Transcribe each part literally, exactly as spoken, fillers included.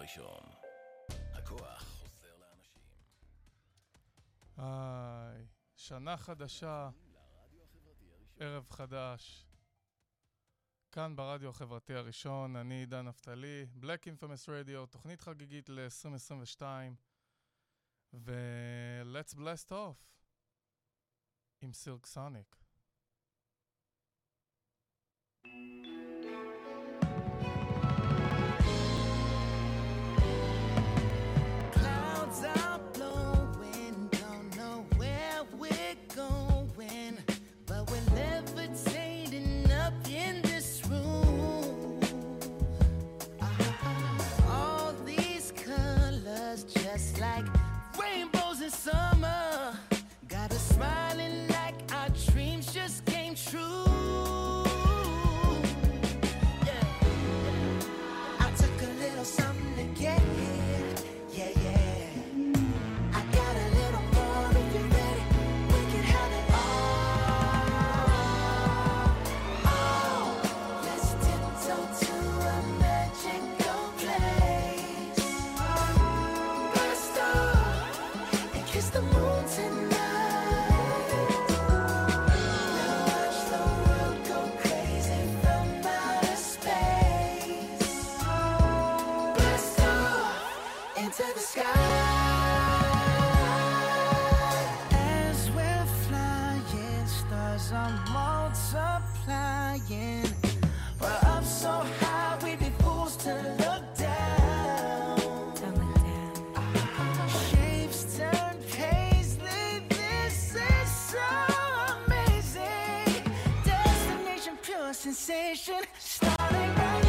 הראשון. הכוח חוזר לאנשים. היי, שנה חדשה, ערב חדש. כאן ברדיו החברתי הראשון, אני עידן נפתלי, Black Infamous Radio, תוכנית חגיגית ל-עשרים עשרים ושתיים, ו-Let's Blast Off עם Silk Sonic. Clouds are blowing, don't know where we're going, but we're levitating up in this room. Uh-huh. All these colors just like rainbows in summer, got us smiling like our dreams just came true. Yeah, I took a little something to get here. Yeah, yeah. I got a little more if you're ready. We can have it all. Oh, let's tiptoe to a magical place. Burst off and kiss the moon tonight. We'll watch the world go crazy from outer space. Burst off into the sky. As we're flying, stars are multiplying. We're up so high, we'd be fools to look down. Shapes turn paisley, this is so amazing. Destination, pure sensation, starting right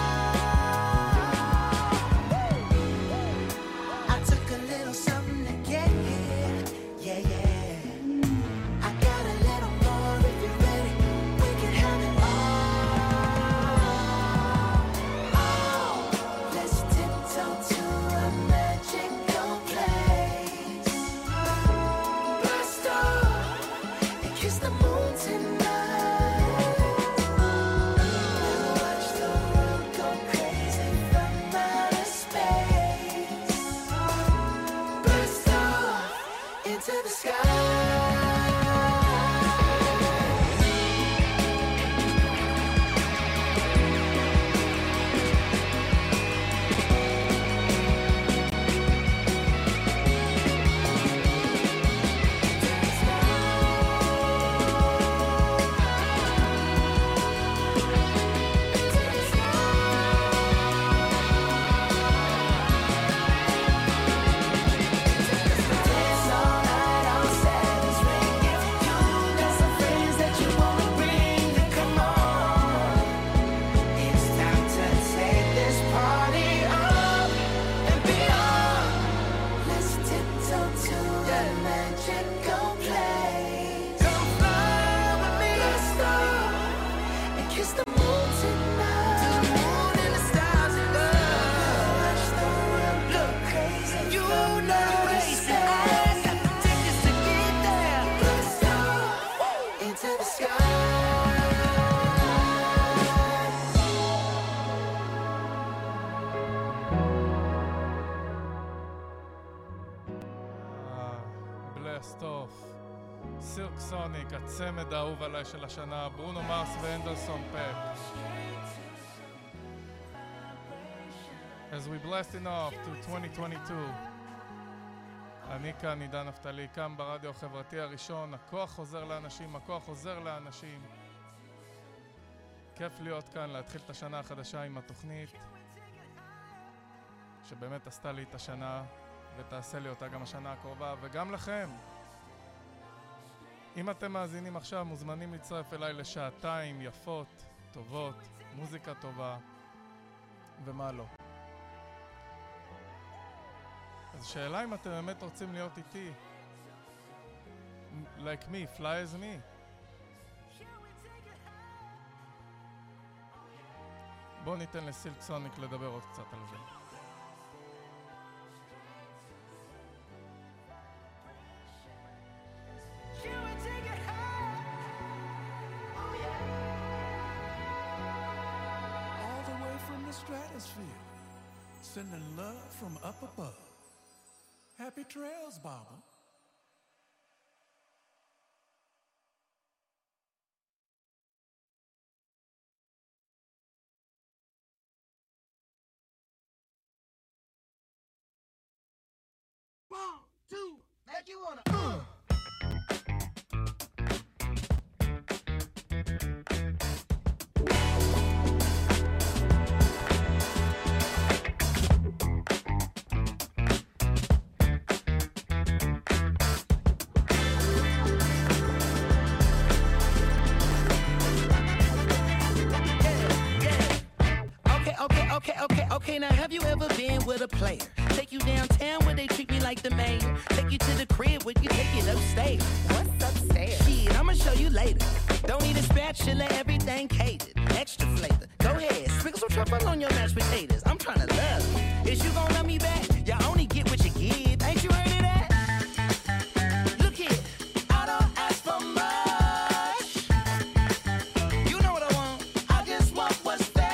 now. I took a little something to get here. Yeah, yeah. I got a little more if you're ready. We can have it all. Oh, let's tiptoe to a magical place. Blast off and kiss the moon tonight. We'll watch the world go crazy from outer space. Blast off into the sky. Dance all night, all sad is ringing. You got some friends that you wanna bring, then come on. It's time to take this party up and beyond. Let's tiptoe to the magical place. Come fly with me. Let's start and kiss the moon tonight. To the moon and the stars and love. Watch the world look crazy. You know it's the eyes have to take us to get there. Let's start into the sky. Blast Off, Silk Sonic, הצמד האהוב עליי של השנה, ברונו מרס ואנדרסון פק. As we blasting off to twenty twenty-two, אני כאן עידן נפתלי, כאן ברדיו החברתי הראשון, הכוח חוזר לאנשים, הכוח חוזר לאנשים. כיף להיות כאן, להתחיל את השנה החדשה עם התוכנית שבאמת עשתה לי את השנה ותעשה לי אותה גם השנה הקרובה, וגם לכם. אם אתם מאזינים עכשיו, מוזמנים להצטרף אליי לשעתיים יפות, טובות, מוזיקה טובה ומה לא. אז שאלה אם אתם באמת רוצים להיות איתי, like me, fly as me. בואו ניתן לסילק סוניק לדבר עוד קצת על זה. All the way from the stratosphere. Sending love from up above. Happy trails, Baba. One, two, make you wanna. Uh. Okay, okay, okay, now have you ever been with a player? Take you downtown where they treat me like the mayor. Take you to the crib where you take it upstairs. What's upstairs? Shit, I'ma show you later. Don't need a spatula, everything catered. Extra flavor. Go ahead, sprinkle some truffle on your mashed potatoes. I'm tryna love you. Is you gon' love me back? You only get what you give. Ain't you heard of that? Look here, I don't ask for much. You know what I want. I just want what's fair.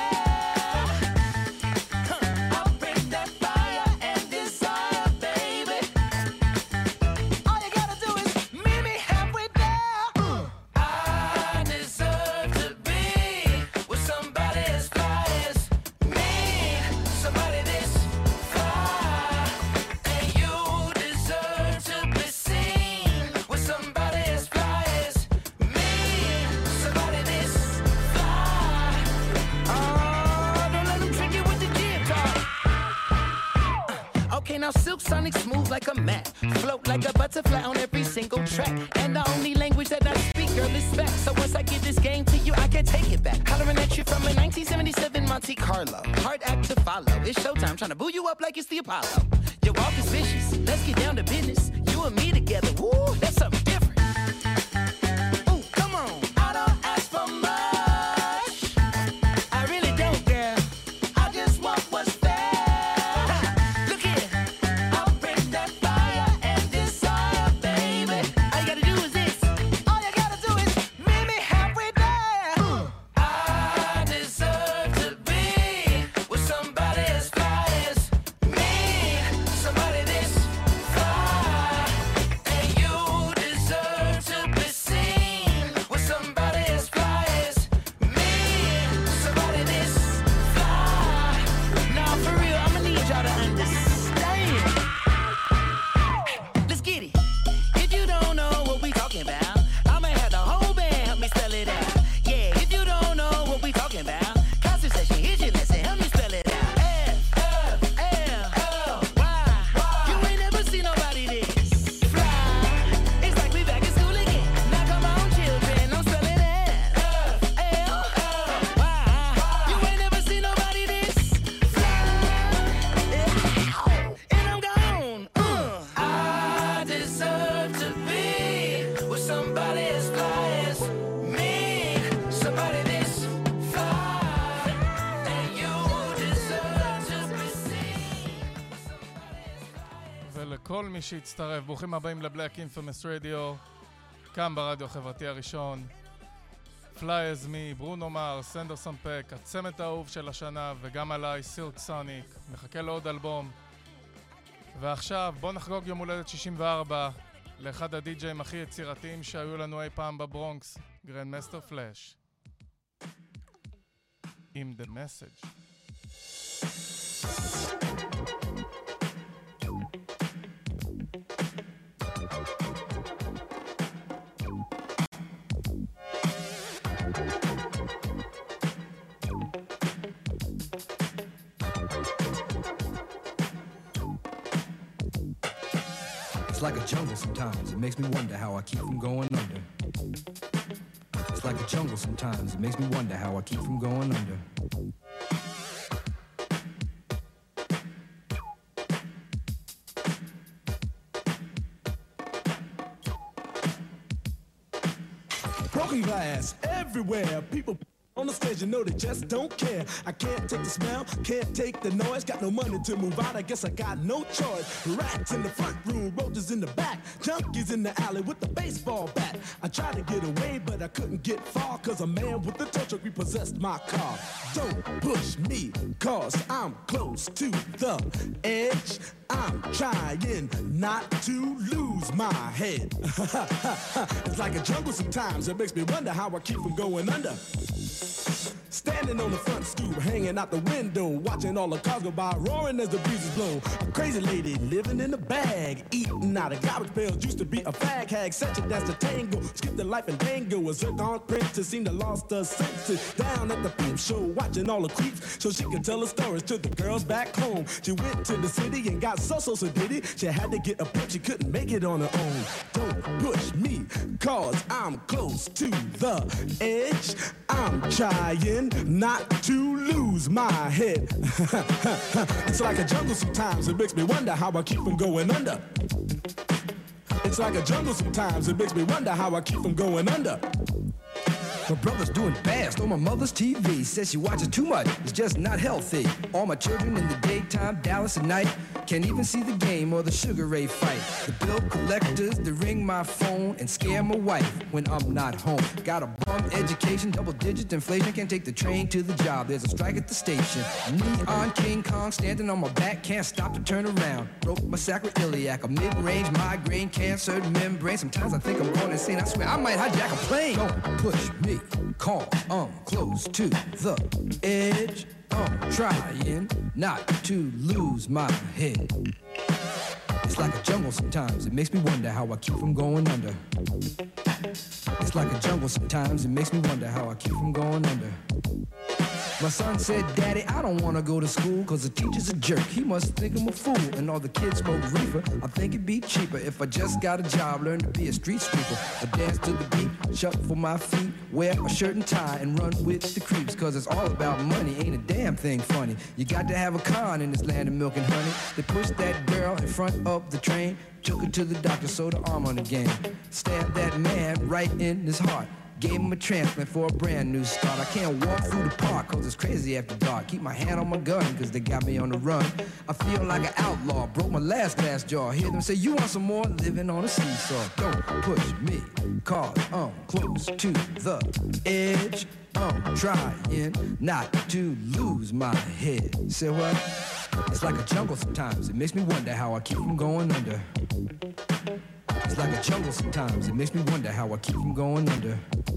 Now Silk Sonic smooth like a mat, float like a butterfly on every single track. And the only language that I speak, girl, is fact. So once I give this game to you, I can't take it back. Hollering at you from a nineteen seventy-seven Monte Carlo. Hard act to follow. It's showtime, trying to boo you up like it's the Apollo. Your walk is vicious. Let's get down to business. You and me together, woo, that's something different. Ooh, come on. I don't ask for much. I really don't, girl. I just want what's fair. כל מי שהצטרף, ברוכים הבאים לבלק אינפמס רדיו, כאן ברדיו החברתי הראשון. פליי אז מי, ברונו מר, סנדרסון פק, הצמד האהוב של השנה, וגם עליי, סילק סוניק, מחכה לעוד אלבום. ועכשיו בוא נחגוג יום הולדת שישים וארבע לאחד הדי-ג'יים הכי יצירתיים שהיו לנו אי פעם בברונקס, גרנד מאסטר פלאש. עם The Message. It's like a jungle sometimes, it makes me wonder how I keep from going under. It's like a jungle sometimes, it makes me wonder how I keep from going under. Broken glass everywhere, people On the stage, you know they just don't care. I can't take the smell, can't take the noise. Got no money to move out, I guess I got no choice. Rats in the front room, roaches in the back, junkies in the alley with the baseball bat. I tried to get away, but I couldn't get far, cause a man with the tow truck repossessed my car. Don't push me, cause I'm close to the edge. I'm trying not to lose my head. It's like a jungle sometimes, it makes me wonder how I keep from going under. Standing on the front stoop, hanging out the window, watching all the cars go by, roaring as the breezes blow. A crazy lady living in a bag, eating out of garbage pails, used to be a fag hag, such a dance to tango, skipped the life and dango. A zircon princess seemed to lost her senses, down at the peep show, watching all the creeps, so she could tell her stories to the girls back home. She went to the city and got so so so did it. She had to get a pimp, she couldn't make it on her own. Don't push me, cause I'm close to the edge. I'm trying not to lose my head. It's like a jungle sometimes, it makes me wonder how I keep from going under. It's like a jungle sometimes, it makes me wonder how I keep from going under. My brother's doing fast on my mother's T V. Says she watches too much, it's just not healthy. All my children in the daytime, Dallas at night. Can't even see the game or the Sugar Ray fight. The bill collectors, they ring my phone and scare my wife when I'm not home. Got a bum education, double digit inflation. Can't take the train to the job, there's a strike at the station. Neon King Kong standing on my back, can't stop to turn around. Broke my sacroiliac, a mid-range migraine, cancer membrane. Sometimes I think I'm going insane, I swear I might hijack a plane. Don't push me, call, I'm close to the edge. I'm trying not to lose my head. It's like a jungle sometimes, it makes me wonder how I keep from going under. It's like a jungle sometimes, it makes me wonder how I keep from going under. My son said, Daddy, I don't want to go to school cause the teacher's a jerk. He must think I'm a fool and all the kids smoke reefer. I think it'd be cheaper if I just got a job, learn to be a street sweeper. I dance to the beat, shuffle my feet, wear a shirt and tie and run with the creeps. Cause it's all about money, ain't a damn thing funny. You got to have a con in this land of milk and honey. They pushed that girl in front of the train, took her to the doctor, sewed her arm on again. Stabbed that man right in his heart. Gave him a transplant for a brand new start. I can't walk through the park cause it's crazy after dark. Keep my hand on my gun cause they got me on the run. I feel like an outlaw, broke my last glass jaw. Hear them say, you want some more? Living on a seesaw. Don't push me cause I'm close to the edge. I'm trying not to lose my head. Say what? It's like a jungle sometimes, it makes me wonder how I keep from going under. It's like a jungle sometimes, it makes me wonder how I keep from going under.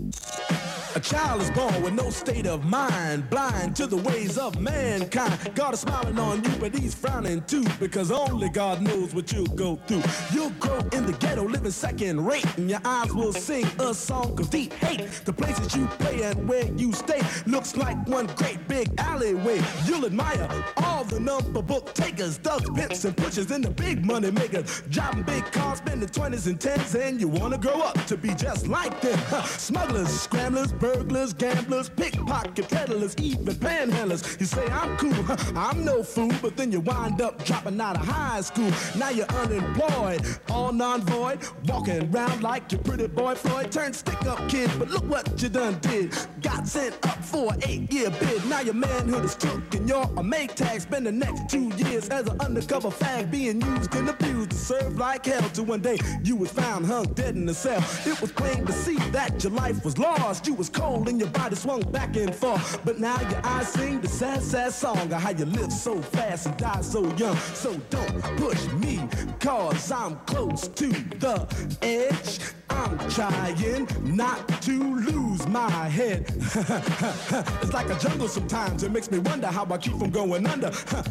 A child is born with no state of mind, blind to the ways of mankind. God is smiling on you, but he's frowning too, because only God knows what you'll go through. You'll grow in the ghetto, living second rate, and your eyes will sing a song of deep hate. The places you play and where you stay looks like one great big alleyway. You'll admire all the number book takers, thugs, pimps, and pushers, and the big money makers, driving big cars, spending twenties and tens, and you wanna grow up to be just like them. Smugglers, scramblers, burglars, gamblers, pickpocket peddlers, even panhandlers. You say I'm cool, I'm no fool, but then you wind up dropping out of high school. Now you're unemployed, all non-void, walking around like your pretty boy Floyd. Turned stick-up kid, but look what you done did. Got sent up for an eight-year bid. Now your manhood is took and you're a make tag. Spend the next two years as an undercover fag, being used and abused to serve like hell. Till one day you was found hung dead in a cell. It was plain to see that your life was lost. You was cold and your body swung back and forth. But now your eyes sing the sad, sad song of how you live so fast and die so young. So don't push me, cause I'm close to the edge. I'm trying not to lose my head. It's like a jungle sometimes, it makes me wonder how I keep from going under.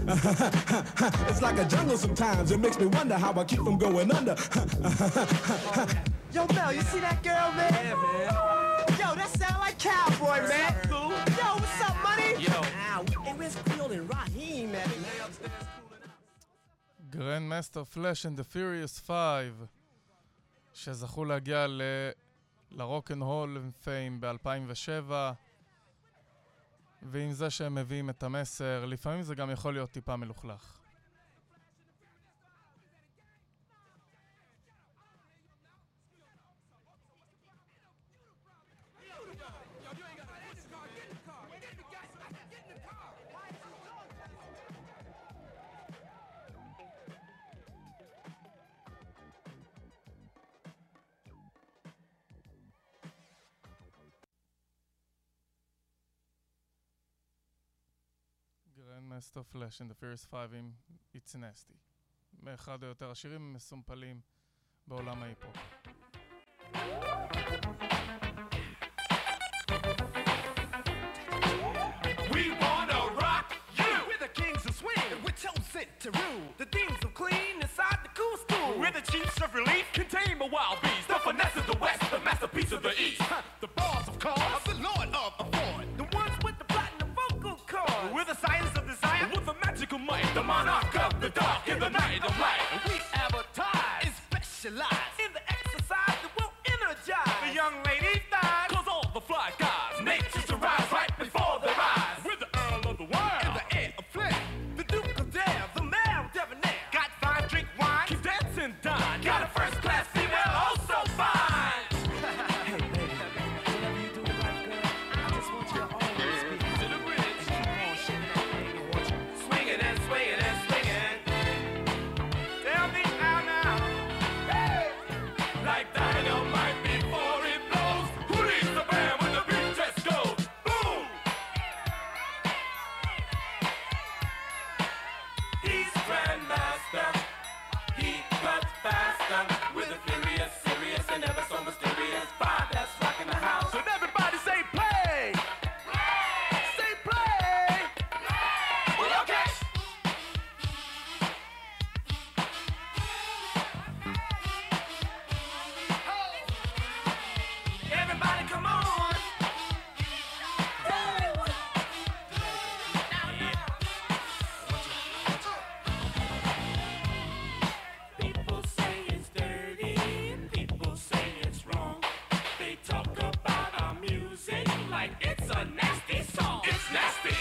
It's like a jungle sometimes, it makes me wonder how I keep from going under. Yo, Mel, you see that girl, man? Yeah, man. Yo, that sound like Cowboy, man. Cool. Yo, what's up, money? Yo. Ow, hey, where's Creole and Raheem, man? Grandmaster Flash and the Furious five, שזכו להגיע ל... לרוק'נ'רול פיים ב-אלפיים ושבע, ועם זה שהם מביאים את המסר, לפעמים זה גם יכול להיות טיפה מלוכלך. Grandmaster Flash and the Furious Five עם It's Nasty. מאחד היותר השירים המסומפלים בעולם ההיפ-הופ. We wanna rock you! We're the kings of swing, we're chosen to rule. The things of clean inside the cool school. We're the chiefs of relief, contain the wild beast. The finesse of the west, the masterpiece of the east. The bars of cars, the lord of afford. The ones with the platinum vocal cords. We're the science of desire, with the magical might. The monarch of the dark in the night of light. And we advertise and specialize in the exercise that will energize the young ladies' thighs. Cause all the fly guys, nature's to rise right before their eyes. We're the earl of the world, and the heir of flair. The duke of dare, the mayor of debonair. Got fine, drink wine, keep dancing, dine. Got a first class female, oh so fine. Hey baby, whatever you do in life, girl, I just want you to always be to the bridge. Keep on shaking that thing, I want you swinging and swinging and swinging. Tell me how now, hey, like dynamite before it blows. Who leads the band when the beat just goes? Boom! He's Grandmaster. He cuts faster with a furious, serious, and ever so mysterious vibe that's rocking the house. And everybody say play! Say play! Well, okay! Everybody come on! People say it's dirty, people say it's wrong. They talk about our music like it's a nasty song. It's nasty.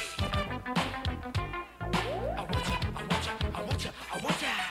I want ya, I want ya, I want ya, I want ya.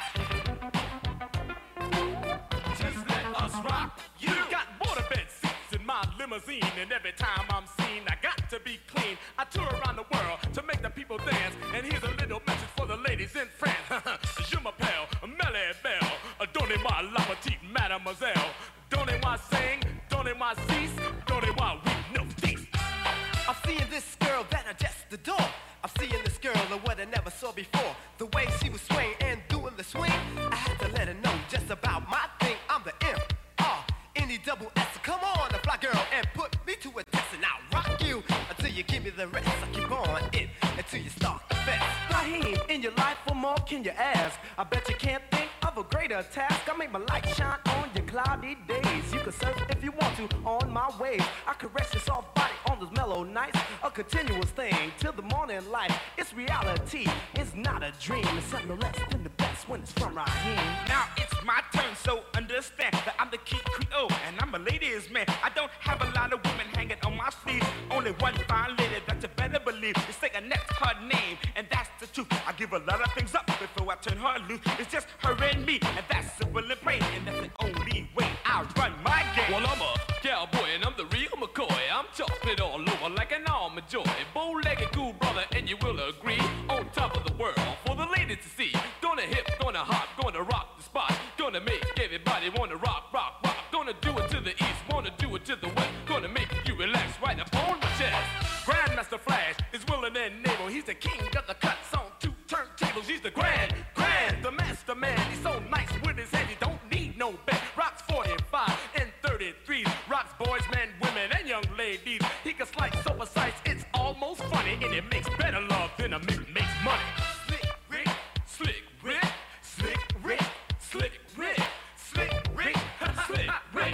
Just let us rock. You got waterbed seats in my limousine, and every time I'm seen, I got to be clean. I tour around the world to make the people dance, and here's a little message for the ladies in France. Je m'appelle Melly Bell, donnez-moi la petite mademoiselle. Donnez-moi sing, donnez-moi cease, donnez-moi we no cease. I'm seeing this girl that I just adore. I'm seeing this girl of what I never saw before. The way she was swaying and doing the swing, I had to let her know just about my thing. I'm the M R N E double S. Come on, the fly girl, and put me to a test, and I'll rock you until you give me the rest. I keep on it until you start the fest. Raheem, in your life, what more can you ask? I bet you can't think of a greater task. I make my light shine on your cloudy days. You can surf if you want to on my waves. I caress your soft body on those mellow nights. A continuous thing till the morning light. It's reality, it's not a dream. It's something no less than the best when it's from Raheem. Now it's my turn, so understand that I'm the key Creole and I'm a ladies' man. I don't have a lot of women hanging on my sleeve. Only one fine lady that you better believe. It's like Annette's her name, and that's the truth. I give a lot of things up before I turn her loose. It's just her and me, and that's simple and plain, and that's the only way I run my game. Well, I'm a cowboy and I'm the real McCoy. I'm chocolate all over like an almond joy. Bow-legged cool brother, and you will agree. On top of the world for the ladies to see. Gonna hip, gonna hop, gonna rock the spot. Gonna make everybody wanna rock, rock, rock. Gonna do it to the east, wanna do it to the west. Gonna make you relax right up on my chest. Grandmaster Flash is willing and able. He's the king of the cuts on two turntables. He's the grand, grand, the master man. He's so nice with his head, he don't need no bed. Rocks forty-five and thirty-threes. Rocks boys, men, women, and young ladies. He can slice so precise, it's almost funny. And it makes better love than a mix makes money. Slick Rick, Slick Rick, Slick Rick, Slick Rick, Slick Rick, Slick Rick.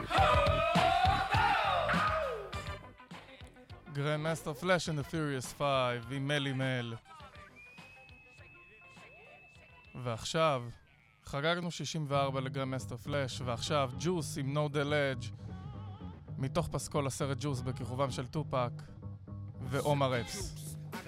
Grandmaster Flash and the Furious Five עם מלי מל. ועכשיו חגגנו שישים וארבע לגרנדמאסטר פלאש, ועכשיו ג'וס עם No Delay מתוך פסקול הסרט ג'וס בכיכובם של טופק ועומר אפס.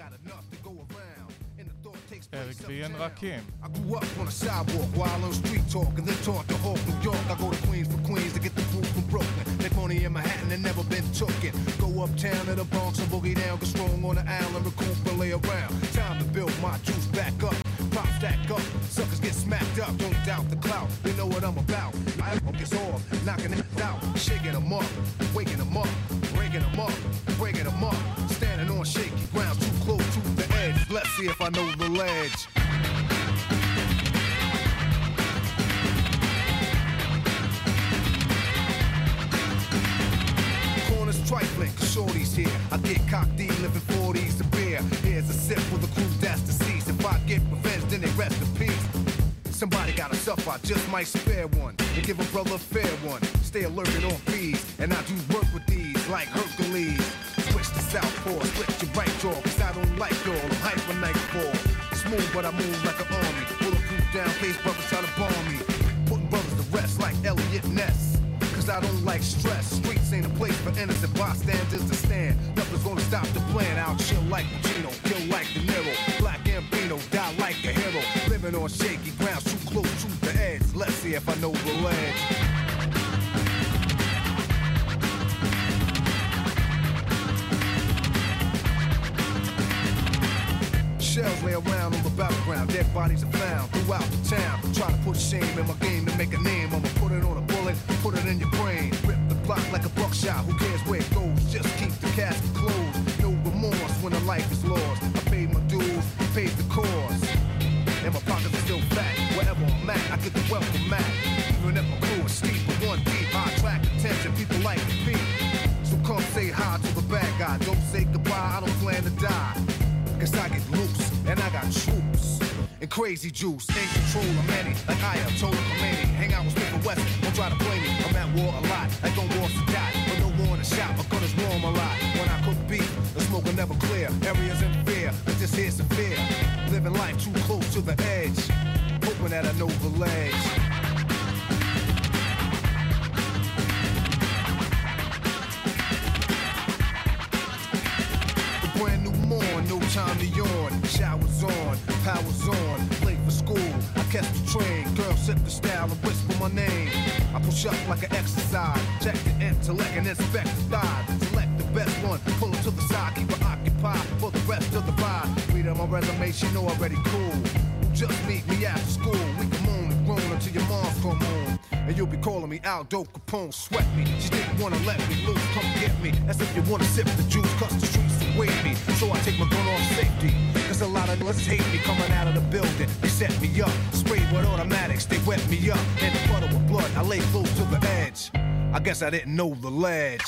Eric B. and Rakim. I grew up on a sidewalk while on street talk and then taught to Hawk, New York. I go to Queens for Queens to get the food from Brooklyn. Make money in Manhattan and never been tooken. Go uptown to the Bronx and boogie down, get strong on the island, recoup and lay around. Time to build my juice back up. Pop stack up, suckers get smacked up. Don't doubt the clout, they know what I'm about. I focus off, knocking it out, shaking them up, waking them up, breaking them up, breaking them up. Standing on shaky ground, too close to the edge. Bless see if I know the ledge. Corners trifling, cause shorty's here. I get cocked, living forties to beer. Here's a sip for the crew that's deceased. If I get revenge, then they rest in peace. Somebody gotta suffer, I just might spare one and give a brother a fair one. Stay alerted on bees, and I do work with these like Hercules. Switch to southpaw, split your right jaw, cause I don't like y'all, I'm hyper nightfall. Smooth, but I move like an army. Bulletproof down, face brothers try to bomb me. Putting brothers to rest like Elliot Ness. Cause I don't like stress. Streets ain't a place for innocent bystanders to stand. Nothing's gonna stop the plan. I'll chill like Pacino, kill like De Niro. Black Gambino, die like a hero. Living on shaky ground, too close to the edge. Let's see if I know the ledge. Shells lay around on the battleground, dead bodies are found throughout the town. Try to put shame in my game to make a name. I'ma put it on a bullet, put it in your brain. Rip the block like a buckshot, who cares where it goes? Just keep the casket closed. No remorse when a life is lost. I paid my dues, paid the cost. And my pockets are still fat. Wherever I'm at, I get the welcome mat. Even if my crew is steep, but one deep, I attract attention, people like to be. So come say hi to the bad guy. Don't say goodbye, I don't plan to die. Cause I get loose, and I got troops. And crazy juice, in control of many. Like I am told Khomeini. Hang out with Smith and Wesson, don't try to play me. I'm at war a lot, like on war to die. But no war in the shop, my gun is warm a lot. When I cook beef, the smoke will never clear. Areas in fear, but this here's severe. Living life too close to the edge. Hoping that I know the ledge. Brand new morn, no time to yawn. Showers on, powers on. Late for school, I catch the train. Girl, sip the style and whisper my name. I push up like an exercise. Check the intellect and inspect the thighs. Select the best one, pull it to the side. Keep her occupied for the rest of the ride. Read on my resume, she know already cool. Just meet me after school. We can moan and groan until your mom's come home. And you'll be calling me Aldo Capone, sweat me. She didn't wanna let me loose, come get me. As if you wanna sip the juice, cause the streets await me. So I take my gun off safety. Cause a lot of us hate me coming out of the building. They set me up, sprayed with automatics, they wet me up. In the puddle with blood, I lay close to the edge. I guess I didn't know the ledge.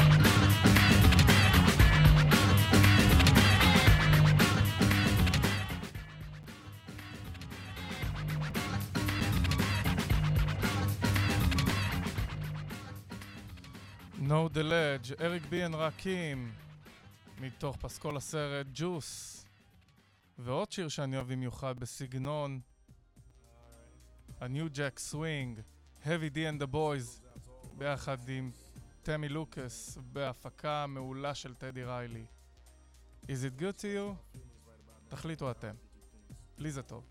No the Ledge, אריק בי אנד רקים, מתוך פסקול הסרט ג'וס. ועוד שיר שאני אוהב במיוחד בסגנון A New Jack Swing, Heavy D and the Boys, ביחד עם תמי לוקאס, בהפקה מעולה של טדי ריילי. Is it good to you? תחליטו אתם. לי זה טוב.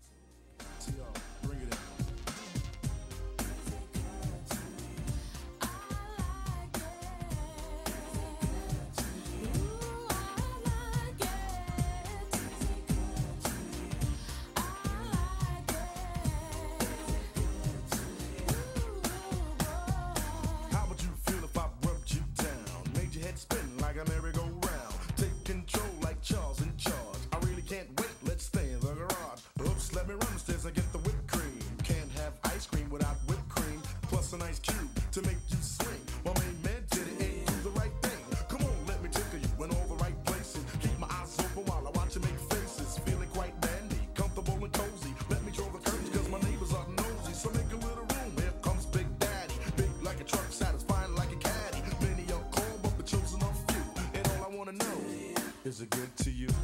Is it good to you?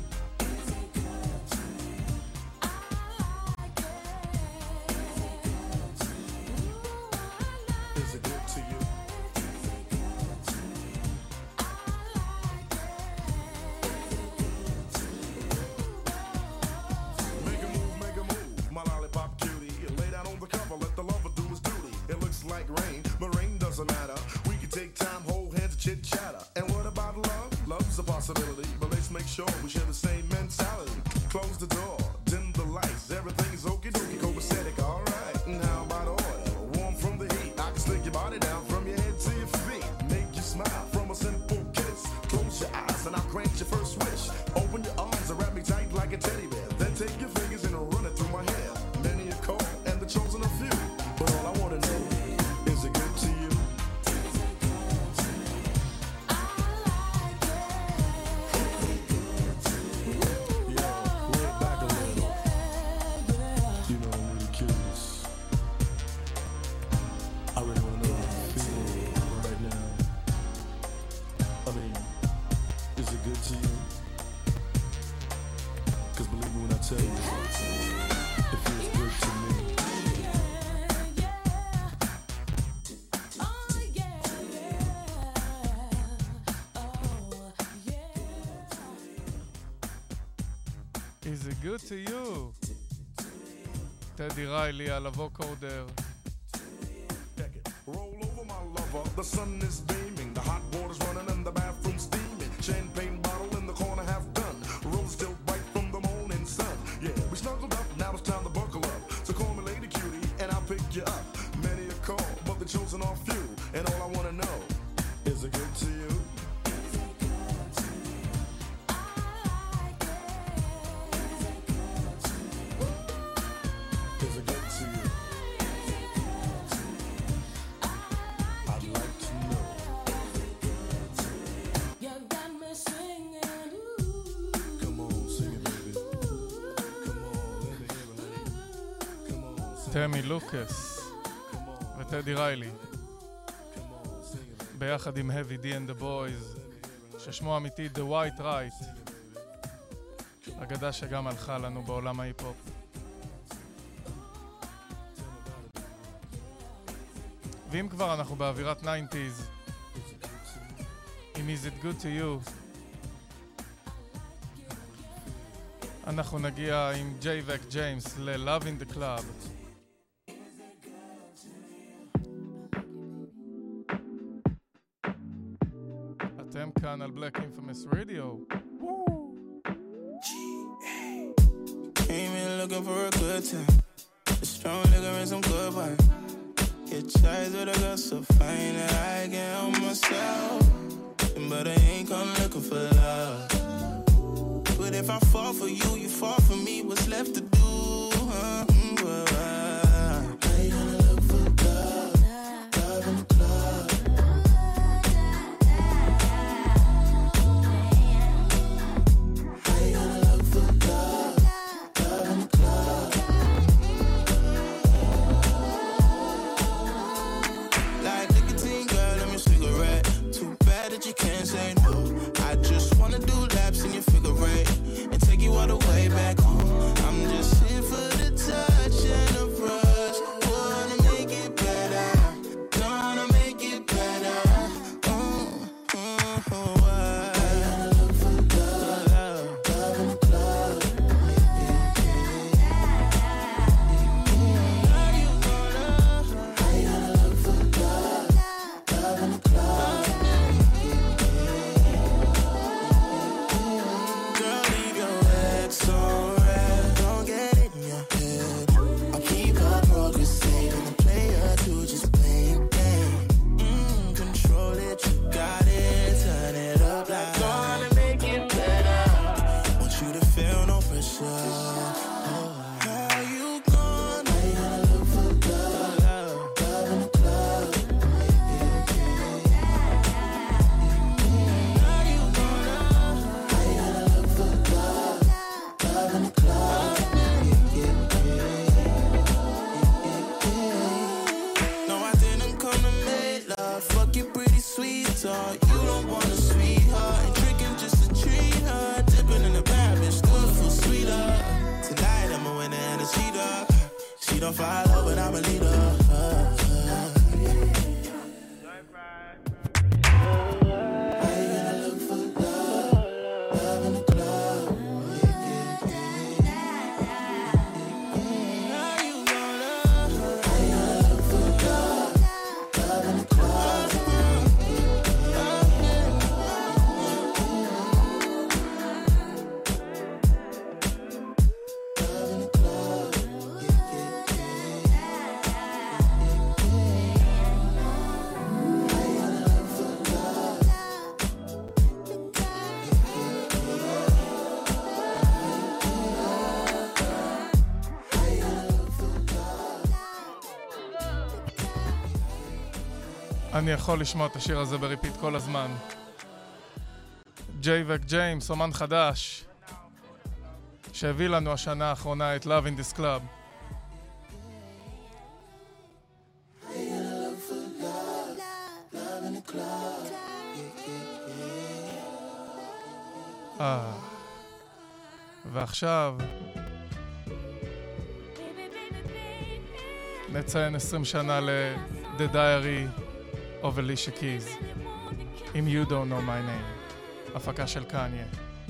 Is it good to you? Make a move, make a move, my lollipop cutie. Lay down on the cover, let the lover do his duty. It looks like rain, but rain doesn't matter. We can take time, hold hands, and chit chatter. And what about love? Love's a possibility, but let's make sure we share the same mentality. Close the door, dim the lights, everything's okie dokie, copacetic, alright. And how about oil? Warm from the heat, I can slick your body down from your head to your feet. Make you smile from a simple kiss. Close your eyes and I'll grant your first wish. Open your arms and wrap me tight like a teddy bear. Is it good to you? Cause believe me when I tell you, it feels good to me. Is it good to you? טדי ריילי על הווקורדר. Roll over my lover, the sun is beaming, the hot water's running and the bathroom steaming. Champagne bottle in the corner half done, rose still bright from the morning sun. Yeah, we snuggled up, now it's time to buckle up. So call me Lady Cutie and I'll pick you up. Many a call, but the chosen are few. And all I wanna know, is it good to you? תמי לוקאס וטדי ריילי ביחד עם Heavy D and the Boys ששמו אמיתי The White Right, אגדה שגם הלכה לנו בעולם ההיפ-הופ. ואם כבר אנחנו באווירת תשעים עם Is It Good To You, אנחנו נגיע עם ג'יי וק ג'יימס ל-Love in the Club. אתם כאן על Black Infamous Radio. Came in looking for a good time, a strong liquor and some good wine. Get chais with a girl so fine that I can help myself, but I ain't come looking for love. But if I fall for you, you fall for me. What's left to do? Huh? Well, I ain't gonna look for love, love in the club. You can't say no. I just wanna do laps in your figure eight and take you all the way back home. I'm just here for the touch and the brush. Wanna make it better, gonna make it better. Oh, oh, oh, I gotta look for love, love in the club. Are you gonna? I gotta look for love, love in the club. אני יכול לשמוע את השיר הזה בריפיט כל הזמן. ג'יי וק ג'יימס, אומן חדש, שהביא לנו השנה האחרונה את Love in this Club. אה. ועכשיו נציין עשרים שנה ל-The Diary of Alicia Keys עם You Don't Know My Name, הפקה של קניה.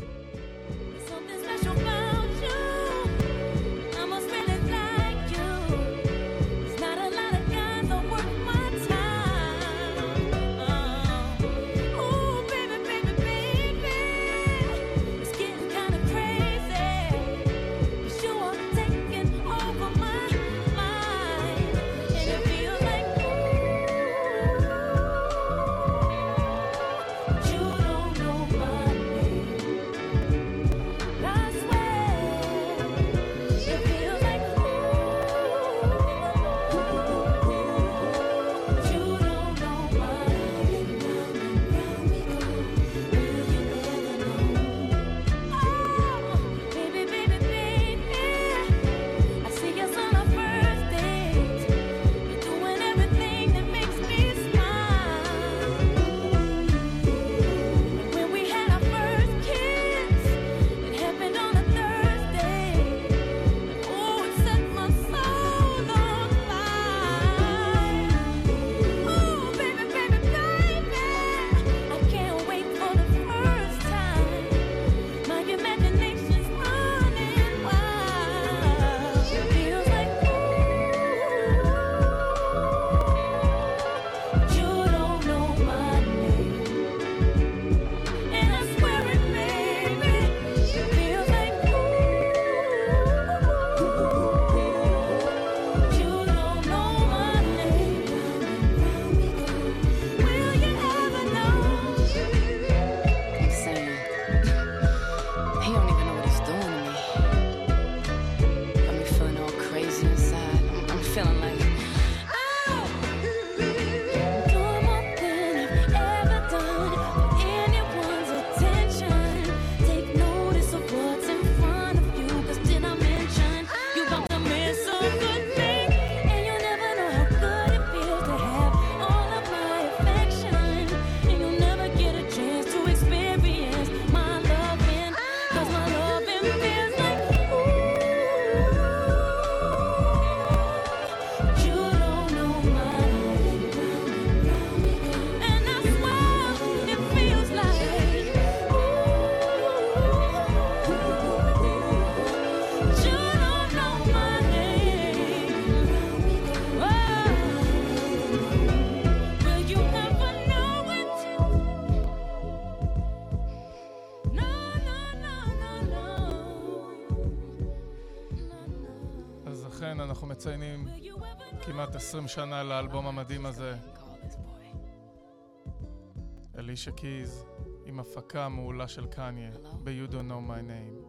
אנחנו מציינים כמעט עשרים שנה לאלבום המדהים הזה. אלישה קיז עם הפקה מעולה של קניה ב-You Don't Know My Name.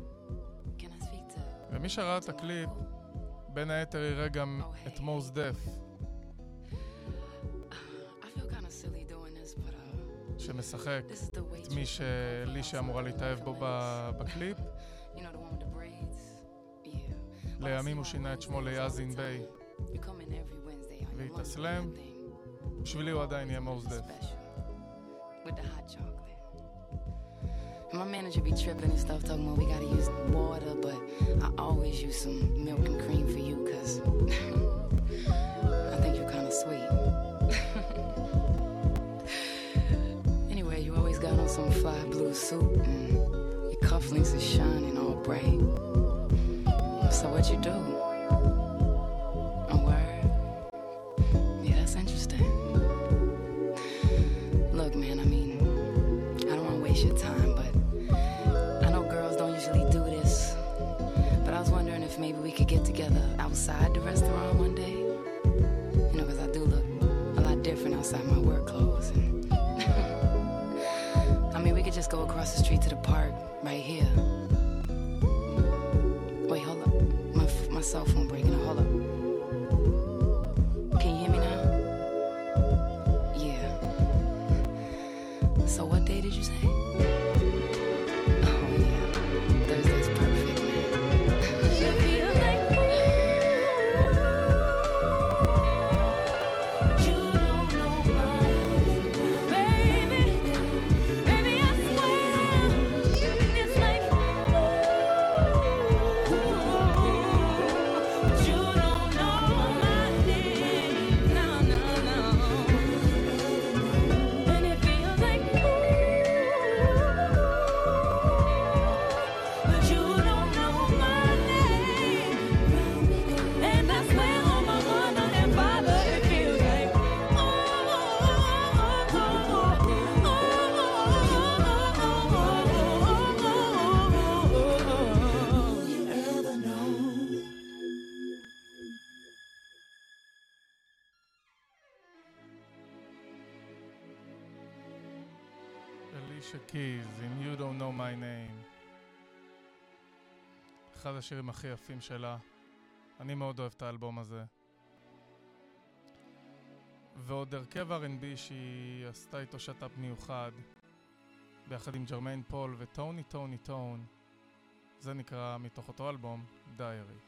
ומי שראה את הקליפ בין היתר יראה גם את Mos Def שמשחק את מי שאלישה אמורה להתאהב בו בקליפ. לימים הוא שינה את שמו ליאזין ביי והתאסלם. בשבילי הוא עדיין יהיה Mos Def. My manager be tripping and stuff, talking about we gotta use water, but I always use some milk and cream for you, cause I think you're kind of sweet. Anyway, you always got on some fly blue suit and your cufflinks are shining all bright. So what you do? A word? Yeah, that's interesting. Look, man, I mean, I don't want to waste your time, but I know girls don't usually do this. But I was wondering if maybe we could get together outside the restaurant one day. You know, because I do look a lot different outside my work clothes. And I mean, we could just go across the street to the park right here. Wait, hold up. My, my cell phone breaking up. Hold up. Can you hear me now? Yeah. So what day did you say? Oh, yeah. Thursday's perfect, man. You feel like you don't know my baby. Baby, I swear אלישה קיז, עם You Don't Know My Name. אחד השירים הכי יפים שלה. אני מאוד אוהב את האלבום הזה. ועוד הרכב אר אנד בי שהיא עשתה איתו שטאפ מיוחד, ביחד עם ג'רמיין פול וטוני טוני טון. זה נקרא מתוך אותו אלבום, דיירי.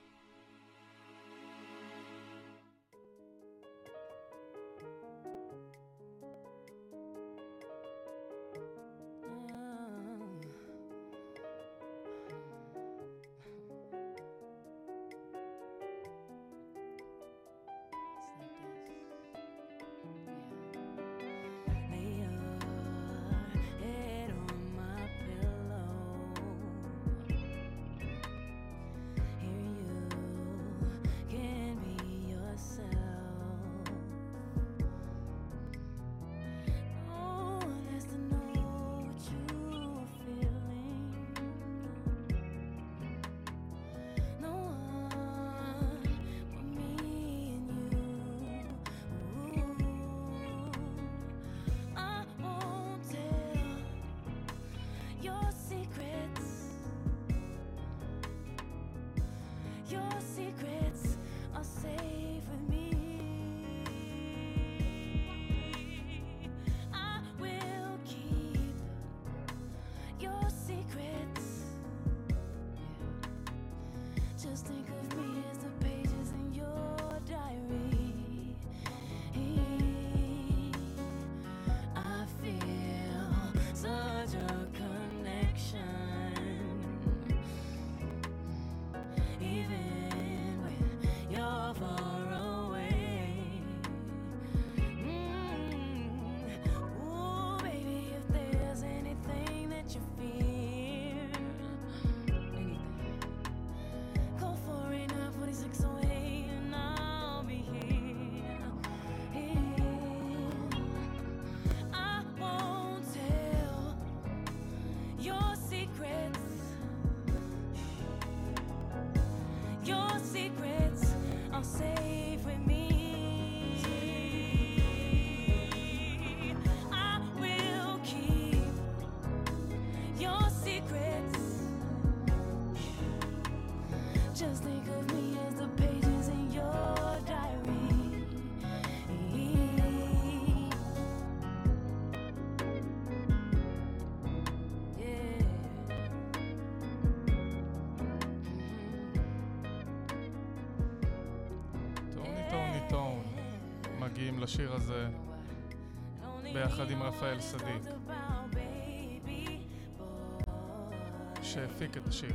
מגיעים לשיר הזה ביחד עם רפאל סדיק שהפיק את השיר.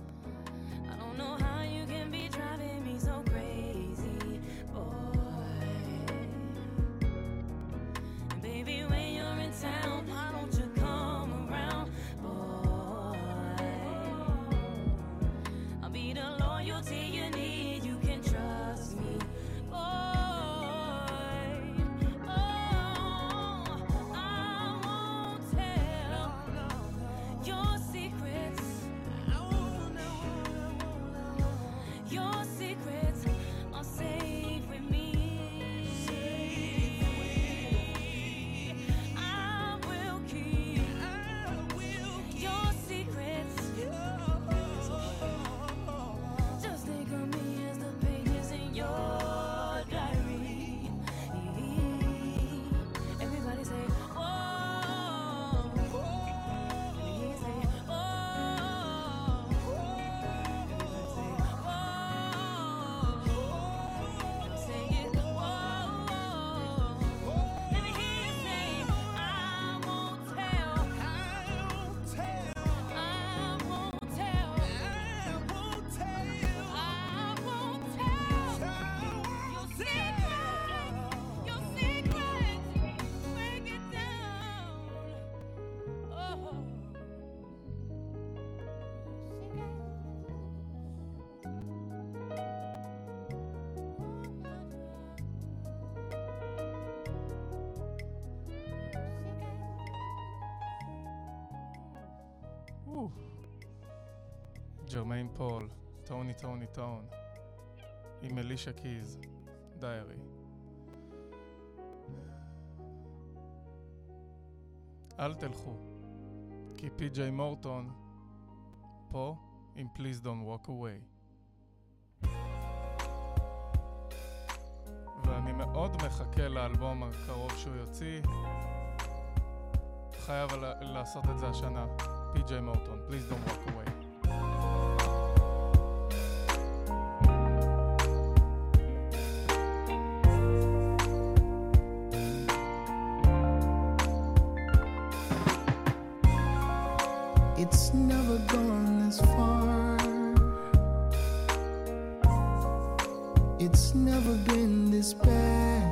ג'רמיין פול, טוני טוני טון, עם אלישה קיז, דיירי. אל תלכו. כי פי ג'יי מורטון פה עם Please Don't Walk Away. ואני מאוד מחכה לאלבום הקרוב שהוא יוציא. חייב לעשות את זה השנה. פי ג'יי מורטון, Please Don't Walk Away. It's never gone this far. It's never been this bad.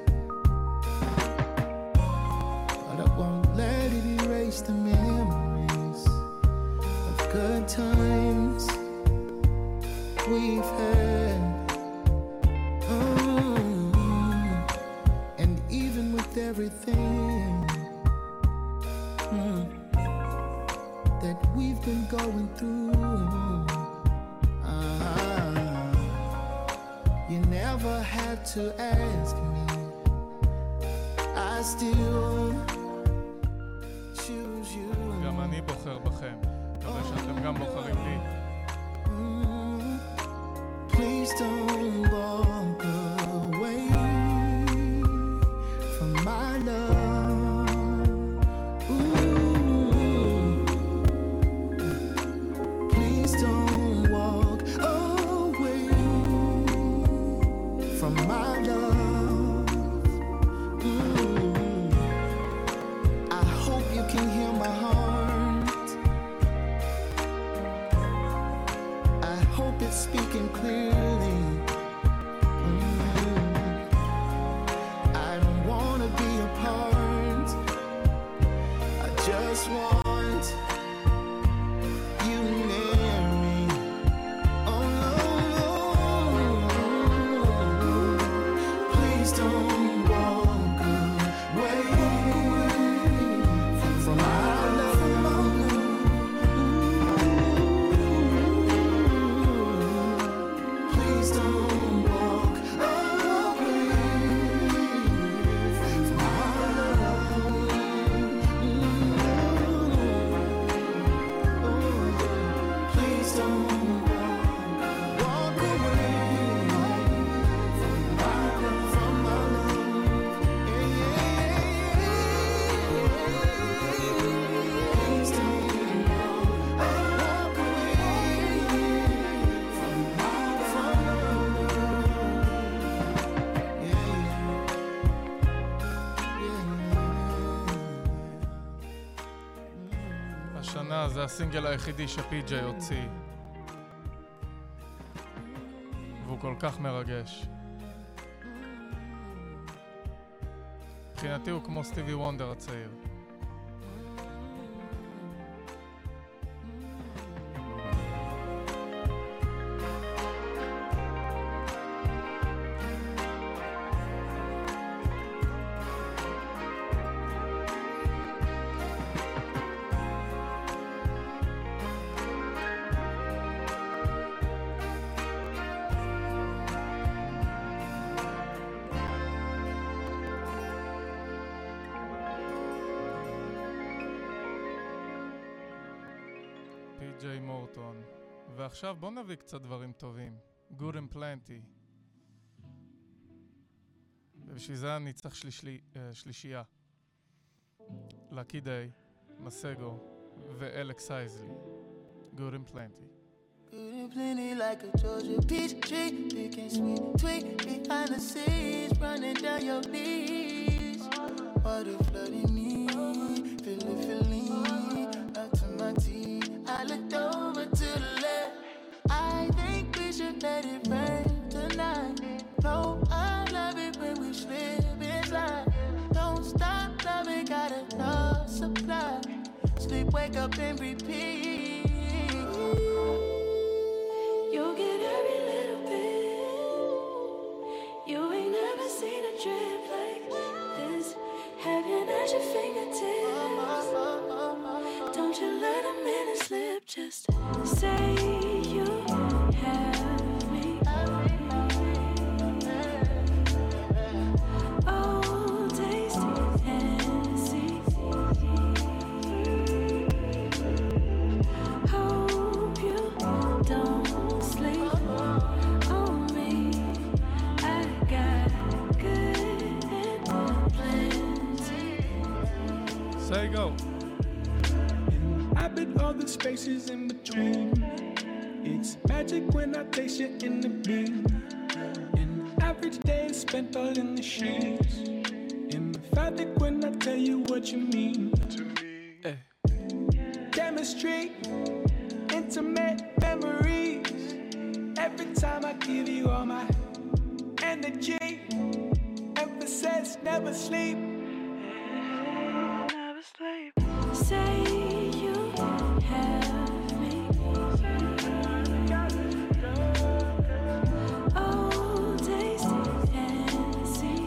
But I won't let it erase the memories of good times we've had. Mm. And even with everything mm, that we've been going through, uh, you never had to ask me. I still choose you. גם אני בוחר בכם. מקווה שאתם גם בוחרים לי. Please don't walk away from my love. Ooh. Please don't walk away from my love. Ooh. I hope you can hear my heart. I hope it's speaking clearly. Mm. I don't wanna be apart. I just want you near me. Oh no, no. Please don't walk away from my love. Please don't walk away from my love. Please don't walk away from my love, from my love. Yeah, yeah, yeah. Please don't walk away from my, from my love. Yeah, yeah. השנה זה הסינגל היחידי שפי ג'יי הוציא. והוא כל כך מרגש. מבחינתי הוא כמו סטיבי וונדר הצעיר. פי ג'יי מורטון. ועכשיו בוא נביא קצת דברים טובים. Good and Plenty. ובשביל זה אני צריך שלישלי, uh, שלישייה. לקי דיי, מסגו ואלכס אייזלי. Good and Plenty. Good and plenty like a Georgia peach tree, picking sweet tweet behind the scenes, running down your knees. Water flooding me, feel it, feeling up to my teeth. I looked over to the left. I think we should let it rain tonight. No, I love it when we slip and slide. Don't stop loving, got enough supply. Sleep, wake up and repeat. You'll get every little bit. You ain't never seen a drip like this. Heaven at your fingertips. Don't you let a minute slip. Just say you have me. Oh, taste and see. inhabit all the spaces in between. It's magic when I taste you in the beam. An average day is spent all in the sheets. Emphatic when I tell you what you mean to me. Hey. Chemistry, intimate memories. Every time I give you all my energy. Emphasis, never sleep. Never sleep. Say you have me. Oh, taste and see.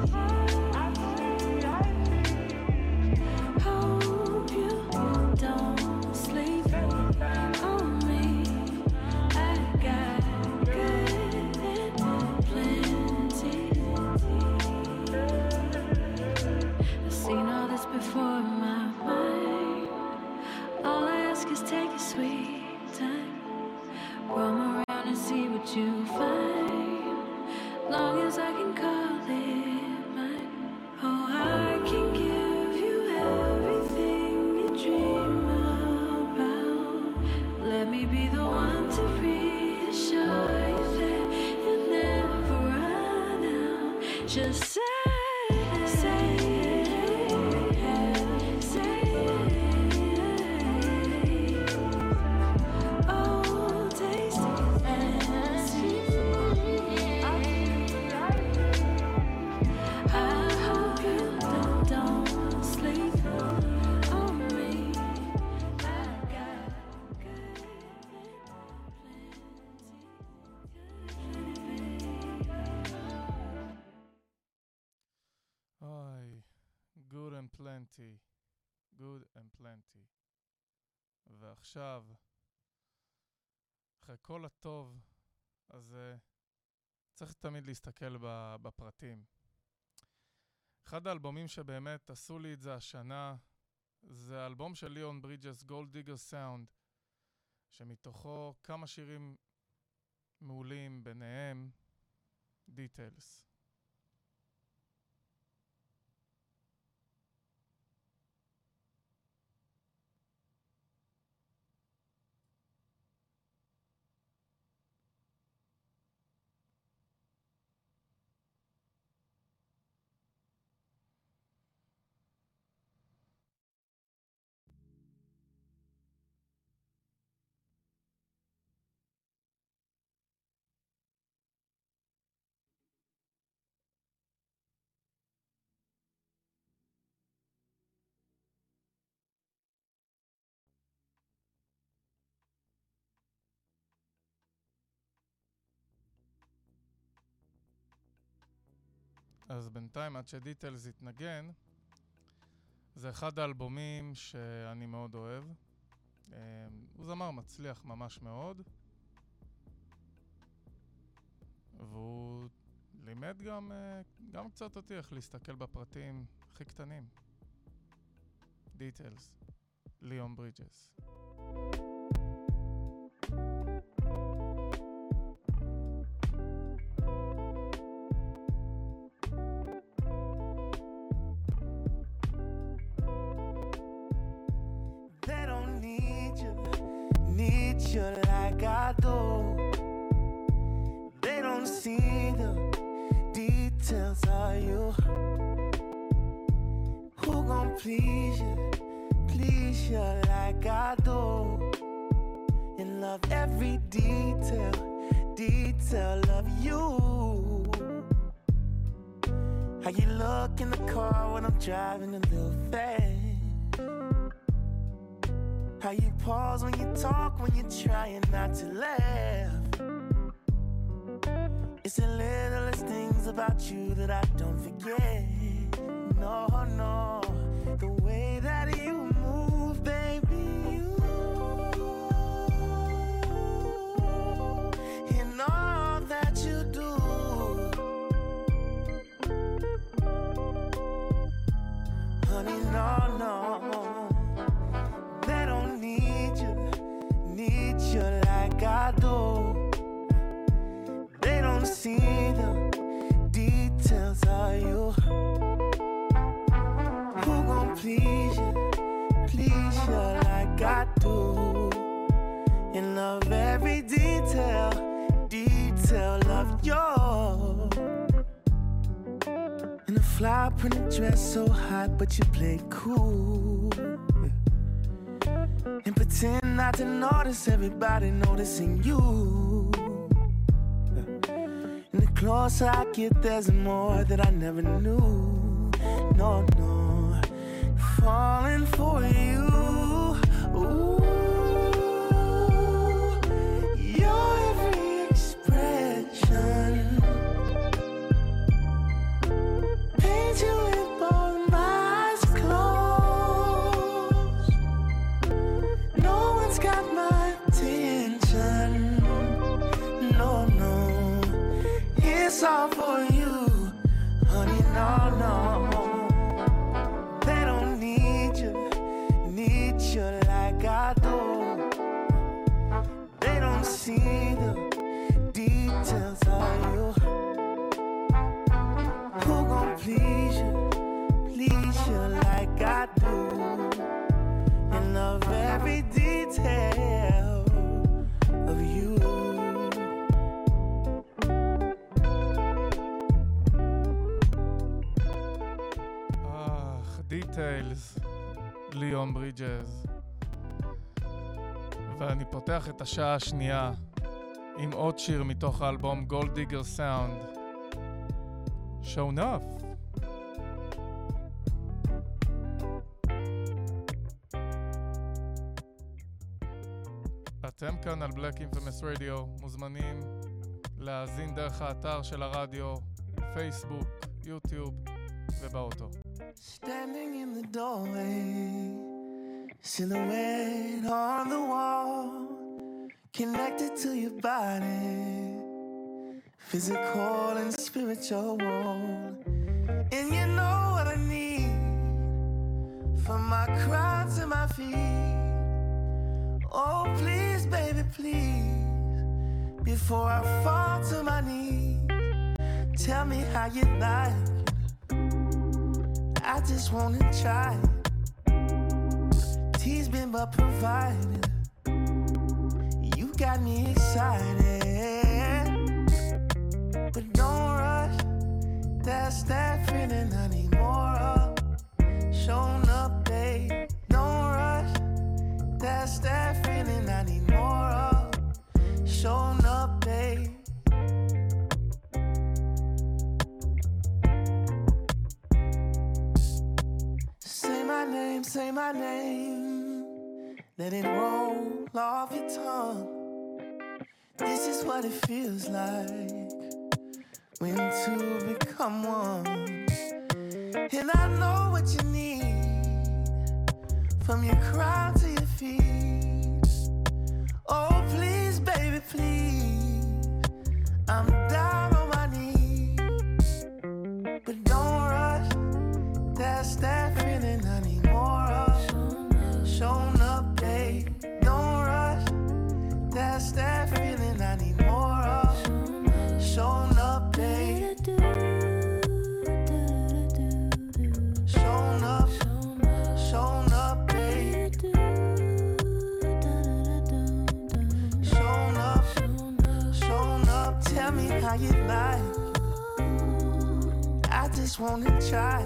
Hope you don't sleep on me. I got good and plenty. I've seen all this before in my mind. All I ask is take your sweet time. Roam around and see what you find. Long as I can call it mine. Oh, I can give you everything you dream about. Let me be the one to reassure you that you'll never run out. Just say, say it, say it. Oh, taste and see. I hope you don't, don't sleep on me. I got good אוי, good and plenty. good and plenty. ועכשיו, אחרי כל הטוב, אז uh, צריך תמיד להסתכל ב- בפרטים. אחד האלבומים שבאמת עשו לי את זה השנה, זה האלבום של ליאון ברידג'ס, Gold Digger Sound, שמתוכו כמה שירים מעולים, ביניהם Details. אז בינתיים, עד שדיטלס יתנגן, זה אחד האלבומים שאני מאוד אוהב. הוא זמר מצליח ממש מאוד. והוא לימד גם, גם קצת אותי איך להסתכל בפרטים הכי קטנים. דיטלס, ליאון ברידג'ס. Like I do. They don't see the details of you. Who gon' please you, please you like I do, and love every detail, detail of you. How you look in the car when I'm driving a little fast. How you pause when you talk, when you're trying not to laugh. It's the littlest things about you that I don't forget. No, no, the way that you move, baby, you and all that you do. Honey, no, no. Like I do. They don't see the details of you. Who gon' please you, please you like I printed dress so hot, but you play cool. And pretend not to notice everybody noticing you. And the closer I get, there's more that I never knew. No, no, falling for you. Ooh, your every expression paint you with both my eyes closed. No one's got my attention. No, no, it's all for you, honey. No, no, they don't need you, need you like I do. They don't see the details of you. Who gon' please you, please you like I do, and love every detail of you. Details, ליאון ברידג'ס. ואני פותח את השעה השנייה עם עוד שיר מתוך האלבום Gold Digger Sound, Show Enough. אתם כאן על Black Infamous Radio, מוזמנים להאזין דרך האתר של הרדיו, פייסבוק, יוטיוב ובאוטו. Standing in the doorway, silhouette on the wall, connected to your body, physical and spiritual. And you know what I need, from my crown to my feet. Oh please, baby, please, before I fall to my knees, tell me how you like. I just wanna try. Tease been but provided. You got me excited, but don't rush. That's that feeling I need more of. Showing up, babe. Don't rush. That's that feeling I need more of. Showing up, babe. Say my name, let it roll off your tongue. This is what it feels like when two become one. And I know what you need, from your crown to your feet. Oh please, baby, please, I'm down on my knees, but don't rush. That's that feeling I need more of. Showing up, babe. Don't rush. That's that feeling I need more of. Showing up, babe. Showing up. Showing up, babe. Showing up. Showing up. Tell me how you like. I just wanna try.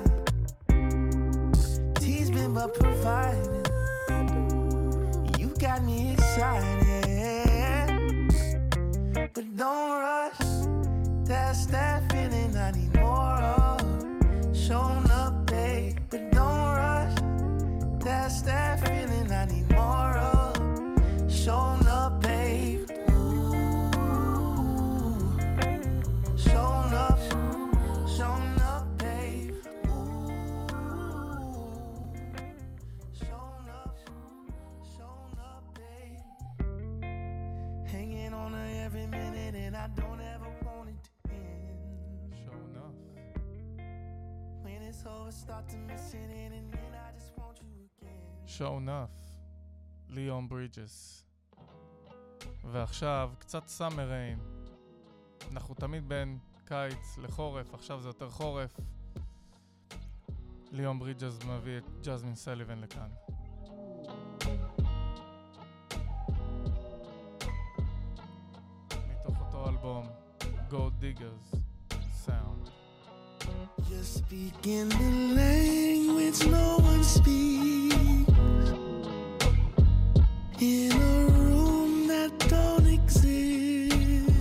Been but provided. You got me excited, but don't rush. That's that feeling I need more of. Showing up, babe, but don't rush. That's that feeling I need more of. Showing up, babe. Showing up, showing up, babe. Show Enough, ליאון ברידג'ס. ועכשיו קצת סאמר ריין. אנחנו תמיד בין קיץ לחורף, עכשיו זה יותר חורף. ליאון ברידג'ס מביא את ג'זמין סליבן לכאן. מתוך אותו אלבום, Gold Diggers Sound. You Speaking the language no one speaks in a room that don't exist.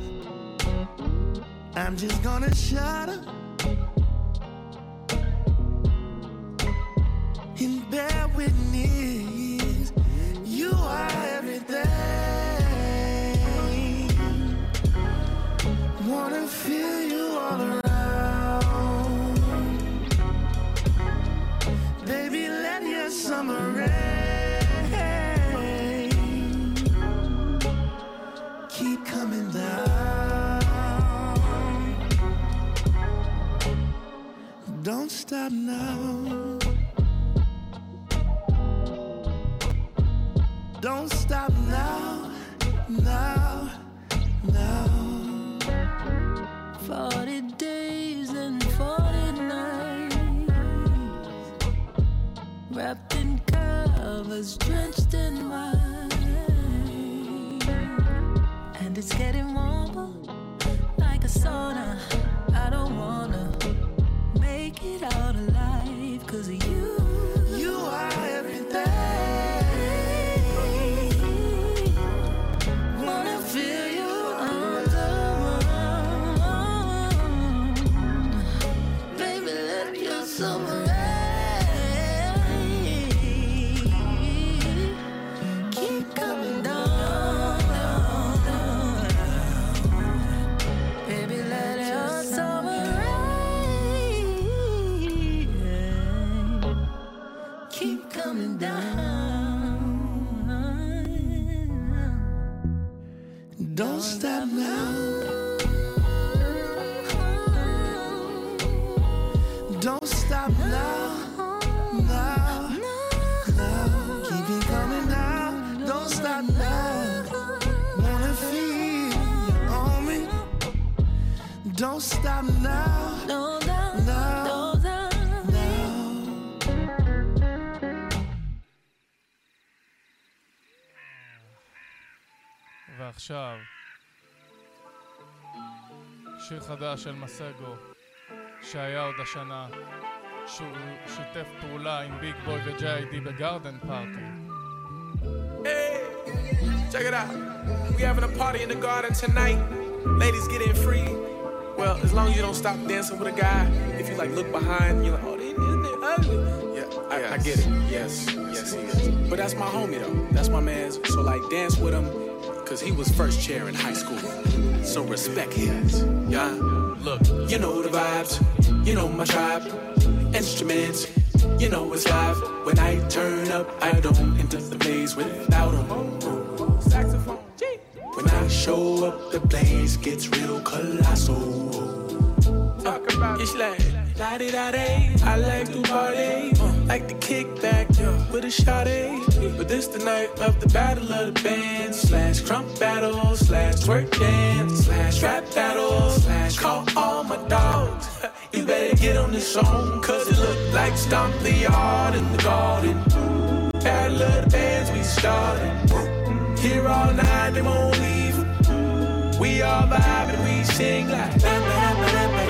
I'm just gonna shut up and bear witness. You are everything. Wanna feel you all around. Baby, let your summer rain keep coming down. Don't stop now. Don't stop now, now, now. Forty days and forty nights, wrapped in covers, drenched in wine, and it's getting warmer like a sauna. I don't wanna make it out alive 'cause of you. You are everything. Wanna feel you under one. Baby, let your summer rain keep coming down, down, down. Baby, let your summer rain keep coming down. Don't stop now. Don't stop now. Now. Now. Keep it coming down. Don't stop now. Wanna feel you on me. Don't stop now. No, no, Now. no, no. Now. ועכשיו, שיר חדש של מסגו, שהיה עוד השנה, שהוא שיתף פעולה עם ביג בוי וג'יי איי די בגארדן פארטי. Hey, check it out. We having a party in the garden tonight. Ladies get in free. Well, as long as you don't stop dancing with a guy. If you like look behind, you're like, oh, isn't it ugly? Yeah, I, I get it. Yes, yes, he is. But that's my homie though. That's my man's. So like, dance with him, cause he was first chair in high school. So respect him. Yeah, look, you know the vibes. You know my tribe. Instruments. You know it's live. When I turn up, I don't enter the place without them. Saxophone. When I show up, the place gets real colossal. Talk about it's like la-di-da-day. I like to party, uh, like to kick back yeah, with a shawty. But this the night of the battle of the bands slash crump battle slash twerk dance slash rap battle slash call all my dogs. You better get on this song, cause it look like Stomp the Yard in the garden. Battle of the bands we started. Here all night, they won't leave. We all vibe and we sing like ba ba ba ba ba.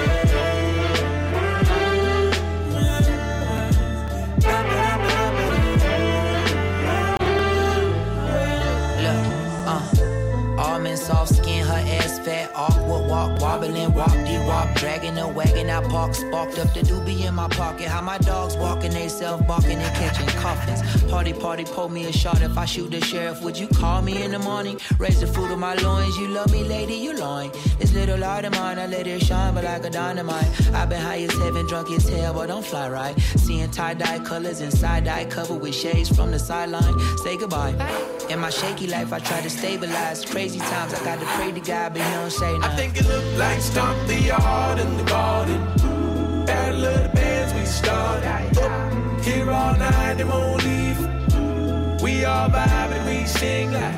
Almond soft skin, her ass fat, awkward walk, wobbling, walk, de-wop, dragging a wagon out park, sparked up the doobie in my pocket. How my dogs walking, they self barking and catching coffins. Party, party, pour me a shot. If I shoot the sheriff, would you call me in the morning? Raise the fruit of my loins, you love me, lady, you loin. This little light of mine, I let it shine, but like a dynamite. I've been high as heaven, drunk as hell, but don't fly right. Seeing tie-dye colors and side-dye covered with shades from the sideline. Say goodbye. In my shaky life, I try to stabilize. Crazy times, I got to pray to God, but he don't say nothing. I think it looked like Stomp the Yard in the garden. Battle of the bands we started. Here all night, they won't leave. We all vibe and we sing like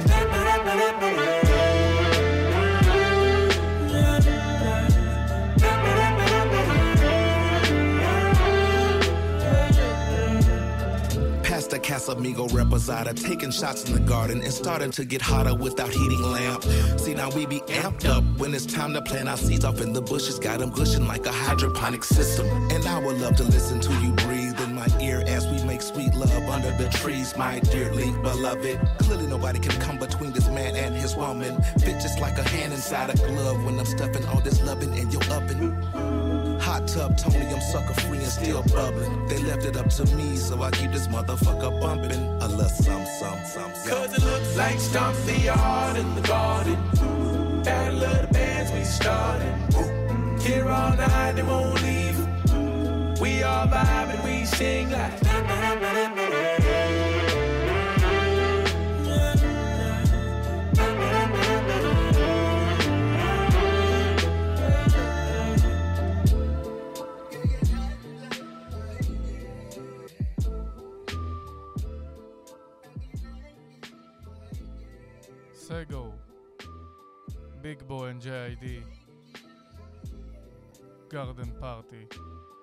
Past the Casamigo reposada, taking shots in the garden and starting to get hotter without heating lamp. See, now we be amped up when it's time to plant our seeds off in the bushes. Got them gushing like a hydroponic system. And I would love to listen to you breathe in my ear as we make sweet love under the trees, my dearly beloved. Clearly nobody can come between this man and his woman. Fit just like a hand inside a glove when I'm stuffing all this loving in your oven. Hot tub Tony, I'm sucker free and still bubbling. They left it up to me, so I keep this motherfucker bumping. A little some, some, some, some. Cause it looks like stomp the yard in the garden. Battle of the bands we started. Here all night, they won't leave. We all vibe and we sing like. Sego, Big Boy and ג'יי איי די, Garden Party.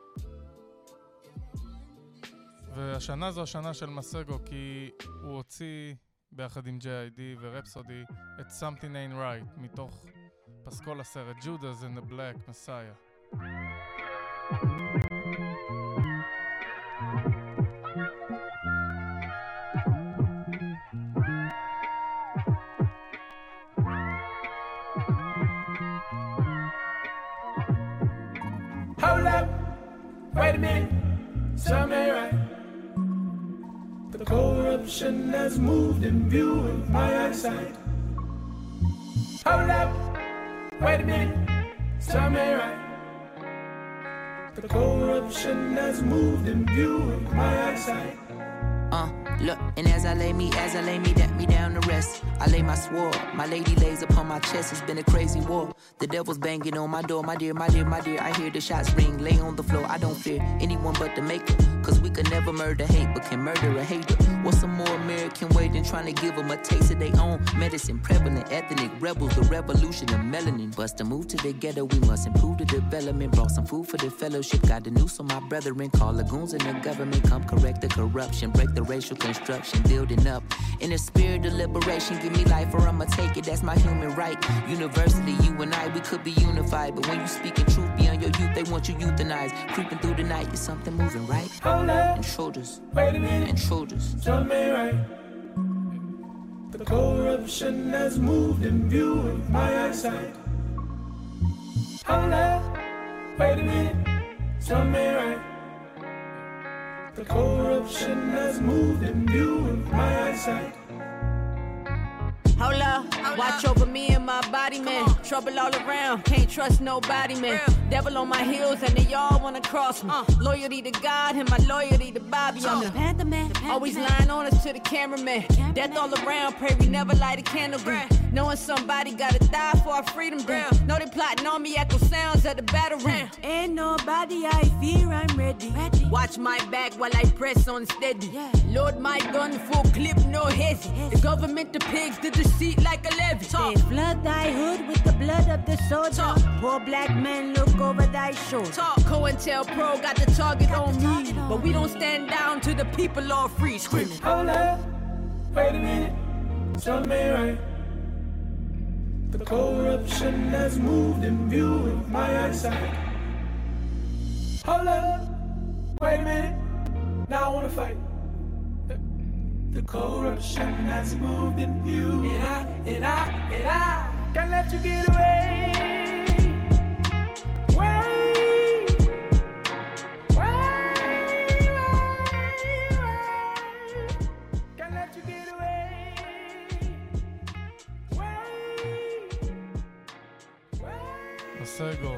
והשנה זו השנה של מסגו, כי הוא הוציא ביחד עם ג'יי איי די ורפסודי את Something Ain't Right מתוך פסקול הסרט Judas and the Black Messiah. Hold up, wait a minute, something ain't right. The corruption has moved in view of my eyesight. Hold up, wait a minute, something ain't right. The corruption has moved in view of my eyesight. Uh, look, and as I lay me, as I lay me, that me down to rest, I lay my sword. My lady lays upon my chest. It's been a crazy war. The devil's banging on my door. My dear, my dear, my dear. I hear the shots ring. Lay on the floor. I don't fear anyone but the maker. Cause we could never murder hate, but can murder a hater. What's a more American way than trying to give them a taste of their own medicine? Prevalent ethnic rebels, the revolution of melanin. Bust a move to the ghetto. We must improve the development. Brought some food for the fellowship. Got the news on my brethren. Call lagoons in the government. Come correct the corruption. Break the racial construction. Building up in a spirit of liberation. Give me life or I'ma take it. That's my human right. University, you and I, we could be unified. But when you speaking truth beyond your youth, they want you euthanized. Creeping through the night, is something moving right? Hold up, intruders, wait a minute, intruders. Something ain't right. The corruption has moved in view of my eyesight. Hold up, wait a minute, something ain't right. The corruption has moved in view of my eyesight. Hold up, watch over me and my body, man. Trouble all around, can't trust nobody, man. Devil on my heels and they all wanna cross me. Uh. Loyalty to God and my loyalty to Bobby. I'm the Panther Man, always lying on us to the cameraman. Death all around, pray we never light a candle green. Knowing somebody gotta die for our freedom. Know they plotting on me, echo sounds at the battle ring. Ain't nobody I fear, I'm ready. ready. Watch my back while I press on steady. Yeah. Load my gun, full clip, no hezzy. The government, the pigs, the deceit like a levy. They flood thy hood with the blood of the soldier. Talk. Poor black men look over thy shoulder. Talk. COINTELPRO got the target got on the target me, on but we don't stand down to the people all free screaming. Hold up, wait a minute, something ain't right. The corruption has moved in view of my eyesight. Hold up, wait a minute, now I wanna fight. The, the corruption has moved in view, and I, and I, and I can't let you get away. Wait, wait, wait, wait. Can't let you get away. מסגו,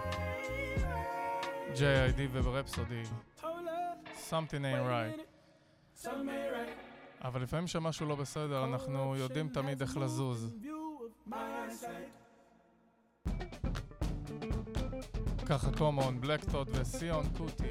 ג'יי איי די וברפסודי, Something ain't right. אבל לפעמים שמשהו לא בסדר, אנחנו יודעים תמיד איך לזוז. ככה קומון, בלקטוד וסיון קוטי.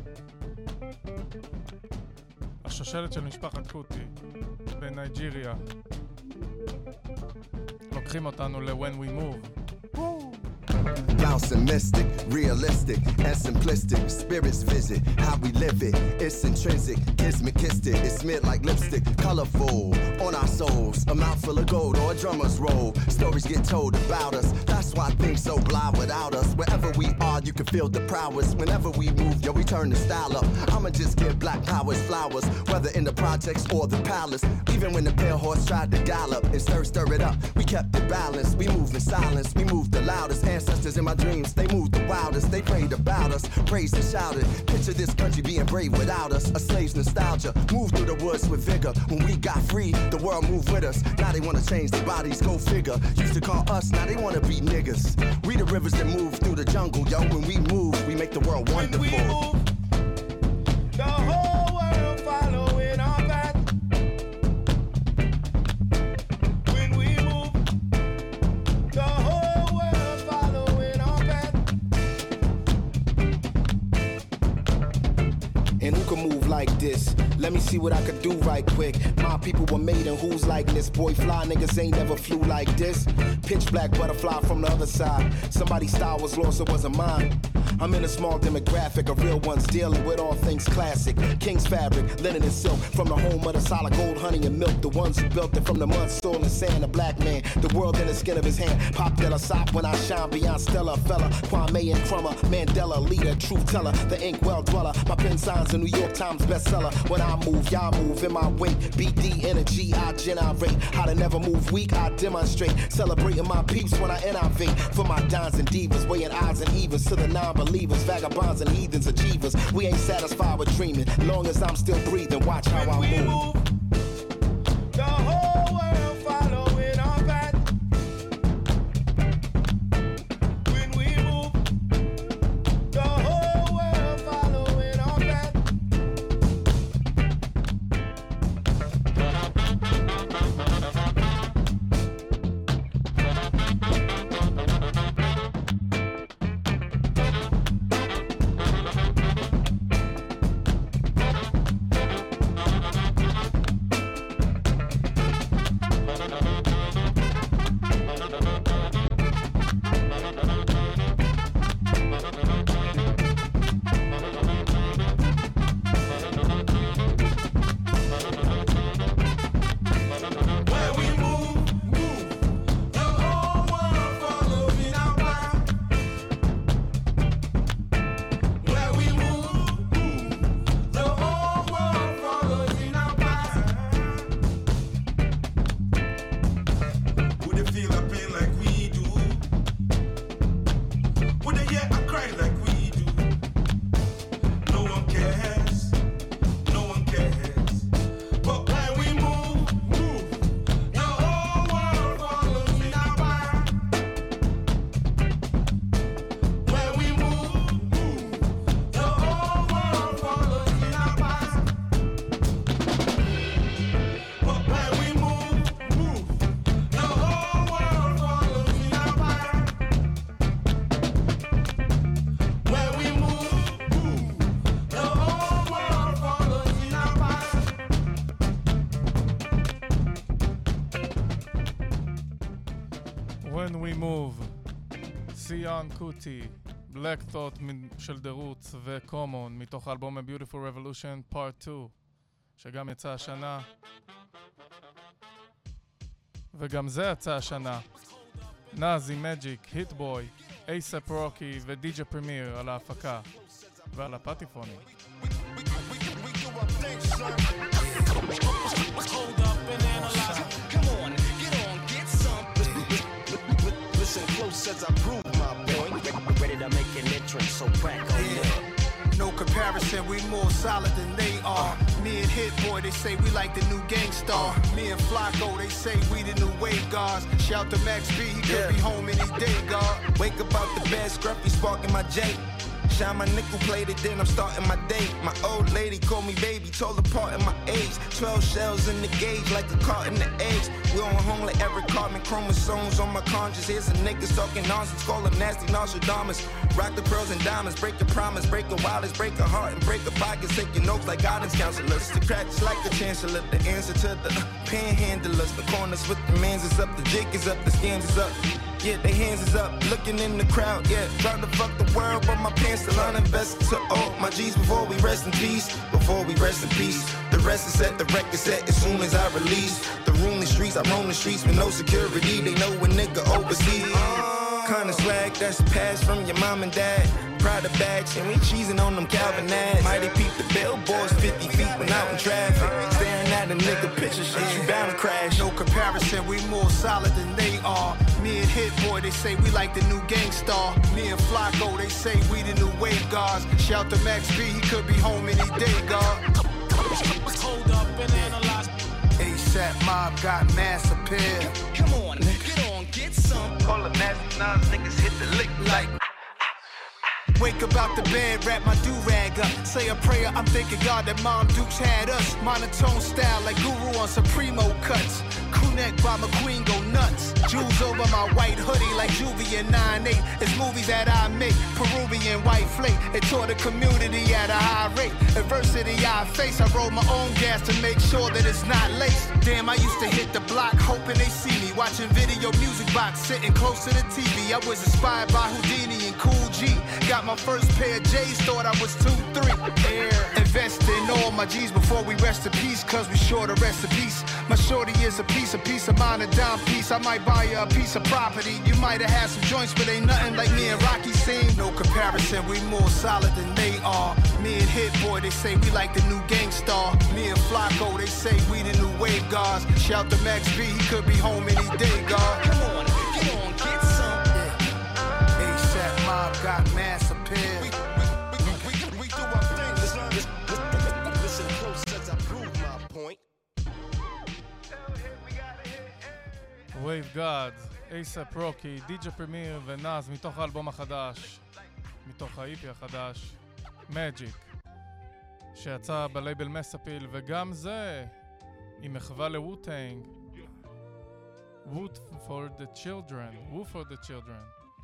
השושלת של משפחת קוטי בנייג'יריה. לוקחים אותנו ל-When We Move. bouncing mystic, realistic and simplistic. Spirits visit how we live it. It's intrinsic, kismet kissed it. It's smeared like lipstick, colorful on our souls. A mouth full of gold or a drummer's roll. Stories get told about us. That's why things so blah without us. Wherever we are, you can feel the prowess. Whenever we move, yo, we turn the style up. I'ma just give black powers flowers, whether in the projects or the palace. Even when the pale horse tried to gallop and stir, stir it up, we kept it balanced. We moved in silence, we moved the loudest. Ancestors in my dreams, they moved the wildest. They prayed about us, praised and shouted. Picture this country being brave without us. A slave's nostalgia, moved through the woods with vigor. When we got free, the world moved with us. Now they wanna change their bodies, go figure. Used to call us, now they wanna be niggas. We the rivers that move through the jungle, yo. When we move, we make the world wonderful. When we move, the whole world following our path. When we move, the whole world following our path. And who can move like this? Let me see what I could do right quick. My people were made in whose likeness? Boy, fly niggas ain't never flew like this. Pitch black butterfly from the other side. Somebody's style was lost, it wasn't mine. I'm in a small demographic of real ones dealing with all things classic. King's fabric, linen and silk, from the home of the solid gold, honey and milk. The ones who built it from the mud, soil and sand. A black man, the world in the skin of his hand. Pop Della Sop when I shine beyond Stella. Fella, Kwame and Crummer, Mandela, leader, truth teller, the ink well dweller. My pen signs a New York Times bestseller. When I move, y'all move in my wake. B D energy, I generate. How to never move weak, I demonstrate. Celebrating my peeps when I innovate. For my dons and divas, weighing odds and evens to the non-believers. Vagabonds and heathens, achievers. We ain't satisfied with dreaming. Long as I'm still breathing, watch how I move. move. The whole world following our path. When we move, the whole world following our path. When We Move, סיון קוטי, Black Thought של דרוץ וקומון מתוך האלבום A Beautiful Revolution Part two שגם יצא השנה וגם זה יצא השנה. נאזי מג'יק, היטבוי, אייסאפ רוקי ודי-ג'יי פרמיר על ההפקה ועל הפטיפונים. Hold up and analyze. Come on, get on, get some. Listen close as I prove my point. Ready to make an entrance, so crack on yeah. No comparison, we more solid than they are. Me and Hit Boy, they say we like the new Gangstar. Me and Flacco, they say we the new wave guards. Shout to Max B, he could Yeah. be home any day, God. Wake up out the bed, scruffy sparking my J. Shine my nickel plated, then I'm starting my day. My old lady called me baby, told apart in my age. Twelve shells in the gauge, like a cart in the eggs. We on home like every carbon chromosomes on my conscience. Here's a niggas talking nonsense, call them nasty Nostradamus. Rock the pearls and diamonds, break your promise, break a wireless, break a heart and break a pocket. Take your notes like guidance counselors. The cracks like the chancellor, the answer to the uh, panhandlers. The corners with the mans is up, the jig is up, the scams is up. Yeah, they hands is up, looking in the crowd. Yeah, trying to fuck the world, but my pants still uninvested. To all my G's before we rest in peace. Before we rest in peace. The rest is set, the record set as soon as I release. The roomless streets, I roam the streets with no security. They know a nigga overseas. Kinda swag that's passed from your mom and dad. Prada bags and we cheesing on them Calvin ads. Mighty peep the billboards fifty feet when out in traffic. Staring at a nigga picture shit, you bound to crash. No comparison, we more solid than they are. Me and Hit Boy, they say we like the new Gangstar. Me and Flacco, they say we the new wave guards. Shout to Max B, he could be home any day, God. Hold up and analyze. ASAP Mob got mass appeal. Come on, get on, get some. Call the nasty nines, niggas hit the lick like. Wake up out the bed, wrap my do-rag up. Say a prayer, I'm thanking God that Mom Dukes had us. Monotone style like Guru on Supremo cuts. Crew neck by McQueen go nuts. Jewels over my white hoodie like Juvie and nine eight. It's movies that I make, Peruvian white flake. It taught the community at a high rate. Adversity I face, I roll my own gas to make sure that it's not laced. Damn, I used to hit the block hoping they see me. Watching video music box, sitting close to the T V. I was inspired by Houdini and Cool G. Got my first pair of J's, thought I was two, three. Air. Invest in all my G's before we rest in peace, cause we sure to rest in peace. My shorty is a piece, a piece of mine, a dime piece. I might buy you a piece of property. You might have had some joints, but ain't nothing like me and Rocky seen. No comparison, we more solid than they are. Me and Hit Boy, they say we like the new Gangstar. Me and Flacco, they say we the new wave guards. Shout to Max B, he could be home any day, God. Come on, get on, get some. Yeah. ASAP Mob got mass appeal. We, we, we, we, we do our thing. Listen, listen, listen close as I prove my point. Wave God, A$AP Rocky, די-ג'יי פרמיר ונאז מתוך האלבום החדש, מתוך ה-אי פי החדש, Magic, שיצא בלייבל מסאפיל, וגם זה עם מחווה לווטנג, Woot for the children, Woo for the children.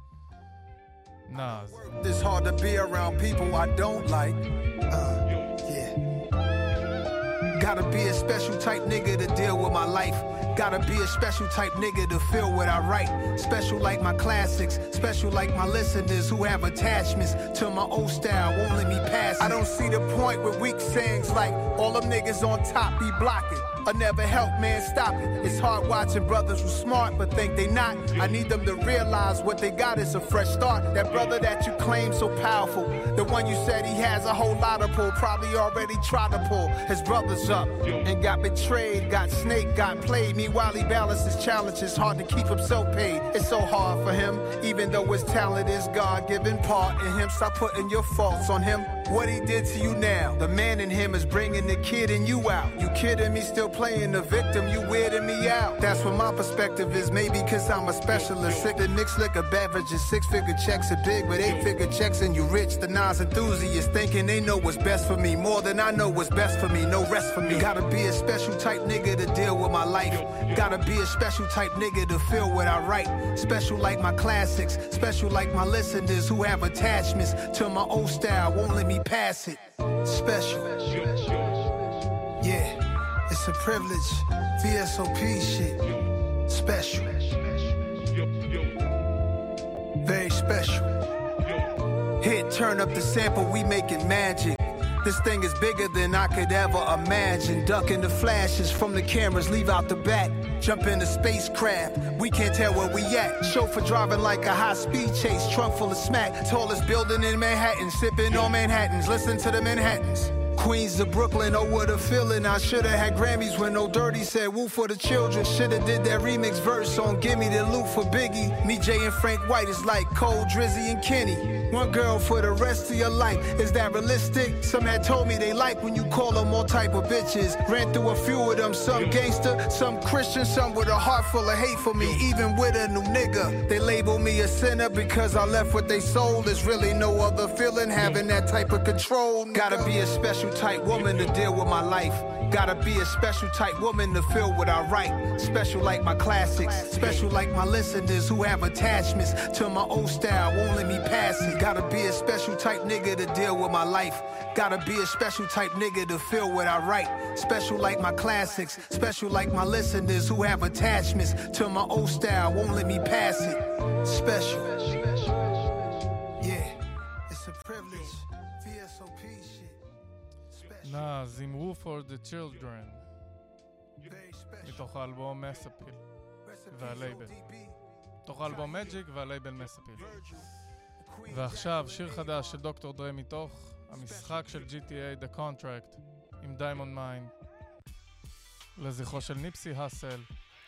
Nas. It's hard to be around people I don't like. Uh, yeah. Gotta be a special type nigga to deal with my life. Gotta be a special type nigga to feel what I write. Special like my classics, special like my listeners who have attachments to my old style, won't let me pass it. I don't see the point with weak sayings like all them niggas on top be blocking. I never help, man, stop it. It's hard watching brothers who smart but think they not. I need them to realize what they got is a fresh start. That brother that you claim so powerful, the one you said he has a whole lot of pull, probably already tried to pull his brothers up and got betrayed, got snaked, got played. Meanwhile he balances challenges, hard to keep himself paid. It's so hard for him, even though his talent is God-given part in him. Stop putting your faults on him. What he did to you now, the man in him is bringing the kid in you out. You kidding me, still playing the victim, you weirding me out. That's what my perspective is, maybe cause I'm a specialist. Sick and mixed liquor beverages, six-figure checks are big, but eight-figure checks and you rich. The Nas enthusiasts thinking they know what's best for me, more than I know what's best for me, no rest for me. Gotta be a special type nigga to deal with my life. Gotta be a special type nigga to feel what I write. Special like my classics, special like my listeners who have attachments to my old style, won't let me pass it. Special. Yeah. It's a privilege, V S O P shit. Special. Very special. Hit, turn up the sample, we making magic. This thing is bigger than I could ever imagine. Ducking the flashes from the cameras, leave out the back. Jump in the spacecraft, we can't tell where we at. Chauffeur driving like a high-speed chase, trunk full of smack. Tallest building in Manhattan, sipping on Manhattans. Listen to the Manhattans. Queens of Brooklyn, oh what a feeling. I shoulda had Grammys when No Dirty said woo for the children. Shoulda did that remix verse on Gimme the Loot for Biggie. Me, Jay, and Frank White is like Cole, Drizzy, and Kenny. One girl for the rest of your life, is that realistic? Some had told me they like when you call them all type of bitches. Ran through a few of them, some gangster, some Christian, some with a heart full of hate for me. Even with a new nigga, they label me a sinner because I left what they sold. There's really no other feeling having that type of control. Gotta be a special special type woman to deal with my life. Gotta be a special type woman to feel what I write. Special like my classics. Special like my listeners who have attachments to my old style, won't let me pass it. Gotta be a special type nigga to deal with my life. Gotta be a special type nigga to feel what I write. Special like my classics. Special like my listeners who have attachments to my old style, won't let me pass it. Special. Yeah, it's a privilege. V S O P shit. נא זמרו for the children מתוך האלבום מסאפיל והלייבל, מתוך האלבום מג'יק והלייבל מסאפיל. ועכשיו שיר חדש של דוקטור דרי מתוך המשחק של ג'י טי איי The Contract עם דיימונד מיין, לזכרו של ניפסי האסל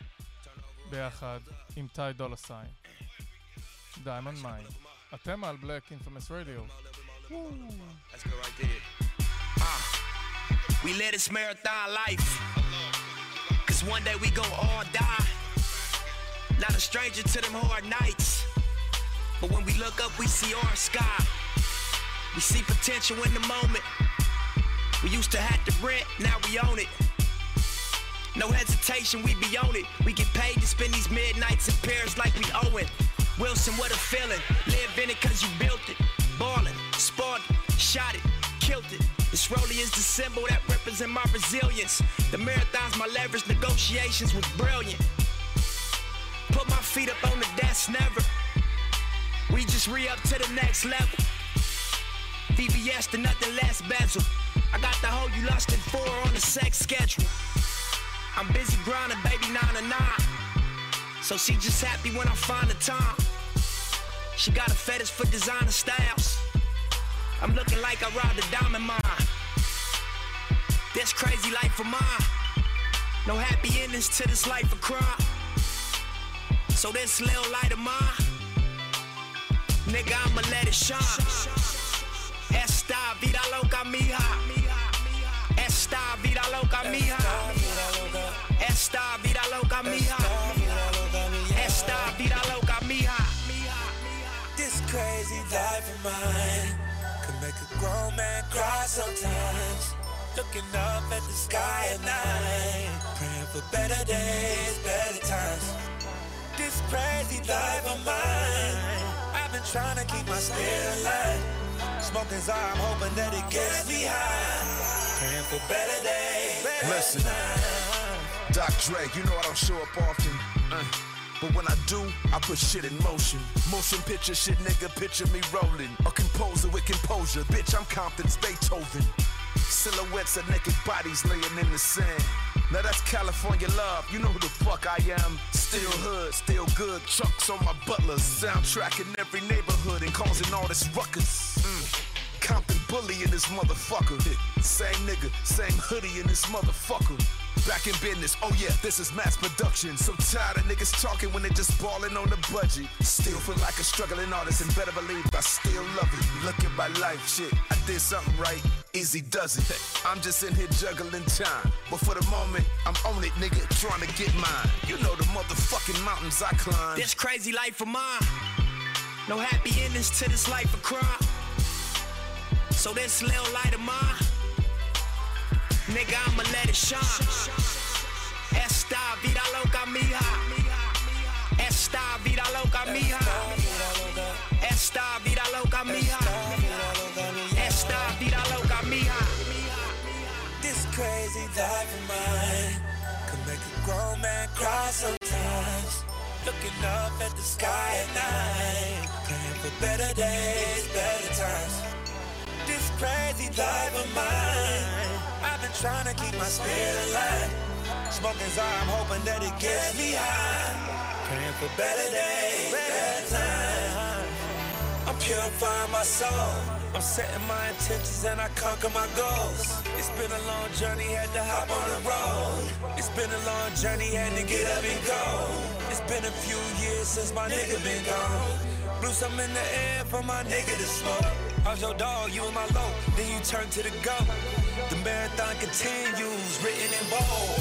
ביחד עם טי דולה סיין. דיימונד מיין, אתם על בלק אינפמוס רדיו. That's good right there. Uh, we live this marathon life, cause one day we gon' all die. Not a stranger to them hard nights, but when we look up we see our sky. We see potential in the moment. We used to have to rent, now we own it. No hesitation, we be on it. We get paid to spend these midnights in Paris like we owe it. Wilson, what a feeling. Live in it cause you built it. Ballin', spawned it, shot it, killed it. This rollie is the symbol that represents my resilience. The marathon's my leverage, negotiations was brilliant. Put my feet up on the desk, never. We just re-up to the next level. V V S to nothing less bezel. I got the hoe you lustin' for on the sex schedule. I'm busy grinding, baby, nine to nine. So she just happy when I find the time. She got a fetish for designer styles. I'm looking like I robbed a diamond mine. This crazy life of mine. No happy endings to this life of crime. So this little light of mine, nigga, I'ma let it shine. Esta vida loca mija. Esta vida loca mija. Esta vida loca mija. Esta vida loca mija. This crazy life of mine could make a grown man cry sometimes. Looking up at the sky at night, praying for better days, better times. This crazy life of mine, I've been trying to keep my spirit alive. Smoking Zara, I'm hoping that it gets me high. Praying for better days, better Listen, times. Doc Dre, you know I don't show up often. Uh. But when I do, I put shit in motion. Motion picture shit, nigga, picture me rolling. A composer with composure, bitch, I'm Compton's Beethoven. Silhouettes of naked bodies laying in the sand. Now that's California love, you know who the fuck I am. Still hood, still good, trucks on my butlers. Soundtrack in every neighborhood and causing all this ruckus. Mm. Compton bully in this motherfucker. Same nigga, same hoodie in this motherfucker. Back in business, oh yeah, this is mass production. So tired of niggas talking when they just ballin' on the budget. Still feel like a struggling artist and better believe I still love it. Look at my life, shit, I did something right, easy does it. I'm just in here juggling time, but for the moment, I'm on it, nigga, trying to get mine. You know the motherfucking mountains I climb. This crazy life of mine, no happy endings to this life of crime. So this little light of mine, nigga, I'ma let it shine. Esta vida loca mija. Esta vida loca mija. Esta vida loca mija. Esta vida loca mija. This crazy life of mine could make a grown man cry sometimes. Looking up at the sky at night, praying for better days, better times. This crazy life of mine, I've been trying to keep my spirit alive. Smoking Zara, I'm hoping that it gets me high. Praying for better days, better times. I'm purifying my soul. I'm setting my intentions and I conquer my goals. It's been a long journey, had to hop on the road. It's been a long journey, had to get up and go. It's been a few years since my nigga been gone. Blew some in the air for my nigga to smoke. I was your dog, you was my low, then you turn to the go. The marathon continues, written in bold.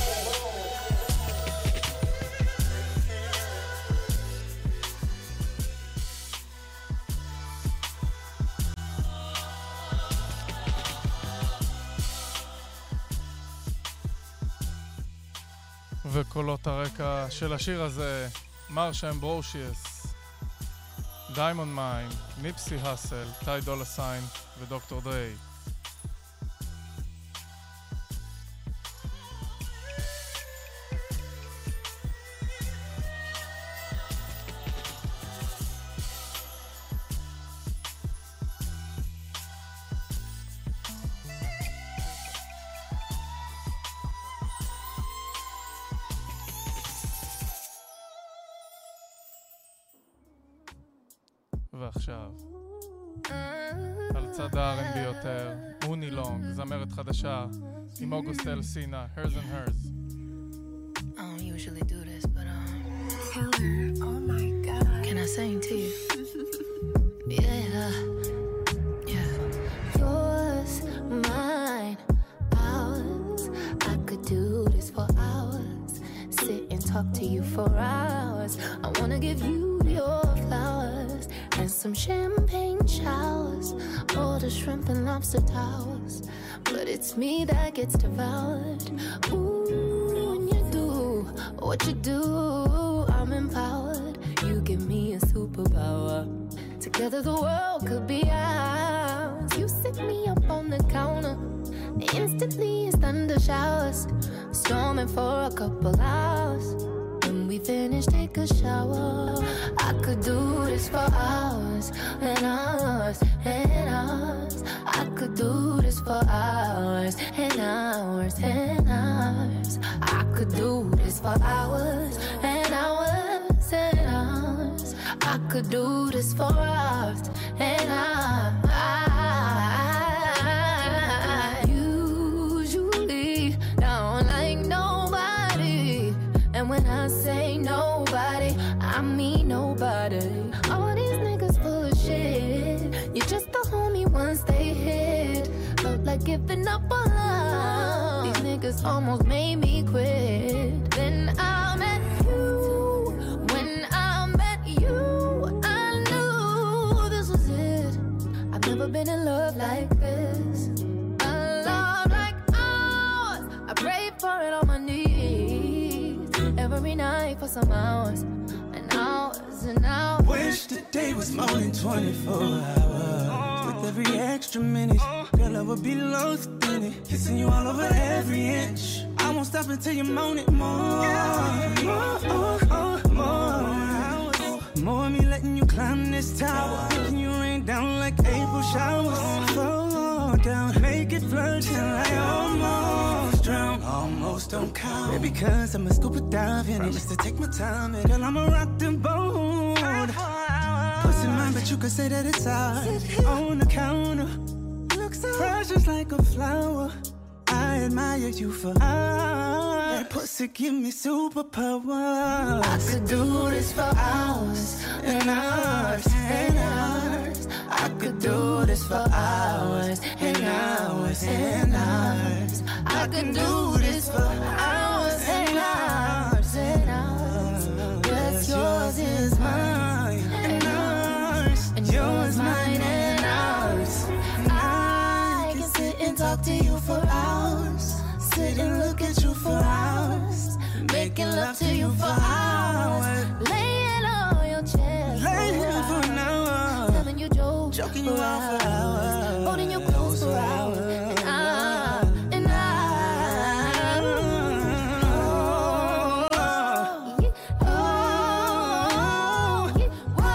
וקולות הרקע של השיר הזה, מרשה אמברושיוס, דיימונד מיין, ניפסי האסל, טי דולה סיין ודוקטור דריי. ועכשיו, על צד ה-אר אנד בי יותר, מוני לונג, זמרת חדשה, עם אוגוסט אלסינה, Hers and Hers. I don't usually do this, but um, Taylor, oh my God, can I sing to you? Yeah, yeah. Yours, mine, ours. I could do this for hours. Sit and talk to you for hours. I wanna give you your flowers and some champagne showers, all the shrimp and lobster towers. But it's me that gets devoured. Ooh, when you do what you do, I'm empowered. You give me a superpower. Together the world could be ours. You sit me up on the counter. Instantly it's thunder showers, storming for a couple hours. When we finish, take a shower. I could do this for hours and hours and hours. I could do this for hours and hours and hours. I could do this for hours and hours and hours. I could do this for hours and hours. Usually don't like nobody, and when I say nobody, I mean nobody. All these niggas full of shit. You're just the homie once they hit. Felt like giving up on love. These niggas almost made me quit. Then I met you. When I met you, I knew this was it. I've never been in love like this. A love like ours. I prayed for it on my knees every night for some hours and hours and hours. Wish the day was more than twenty-four hours. With every extra minute, girl, I would be lost in it. Kissing you all over every inch. I won't stop until you moan it more. More, oh, oh, more. More me letting you climb this tower. Making you rain down like April showers. Fall down, make it flood till I almost drown. Almost don't count. Maybe cause I'm a scuba diver. Promise to take my time, and girl, I'ma rock the boat. Pussy mine, but you could say that it's ours. On the counter, looks so fresh just like a flower. I admire you for hours. That pussy give me superpowers. I could do this for hours and hours and hours. I could do this for hours and hours and hours. I could do this for hours and hours and hours. What's yours is mine and ours, and yours mine and ours. I can sit and talk to you for hours, sit and look at you for hours, making love to you for hours, laying on your chest, laying for an hour, telling you jokes, joking you out for hours, holding you close for hours, and I, and I, oh, oh,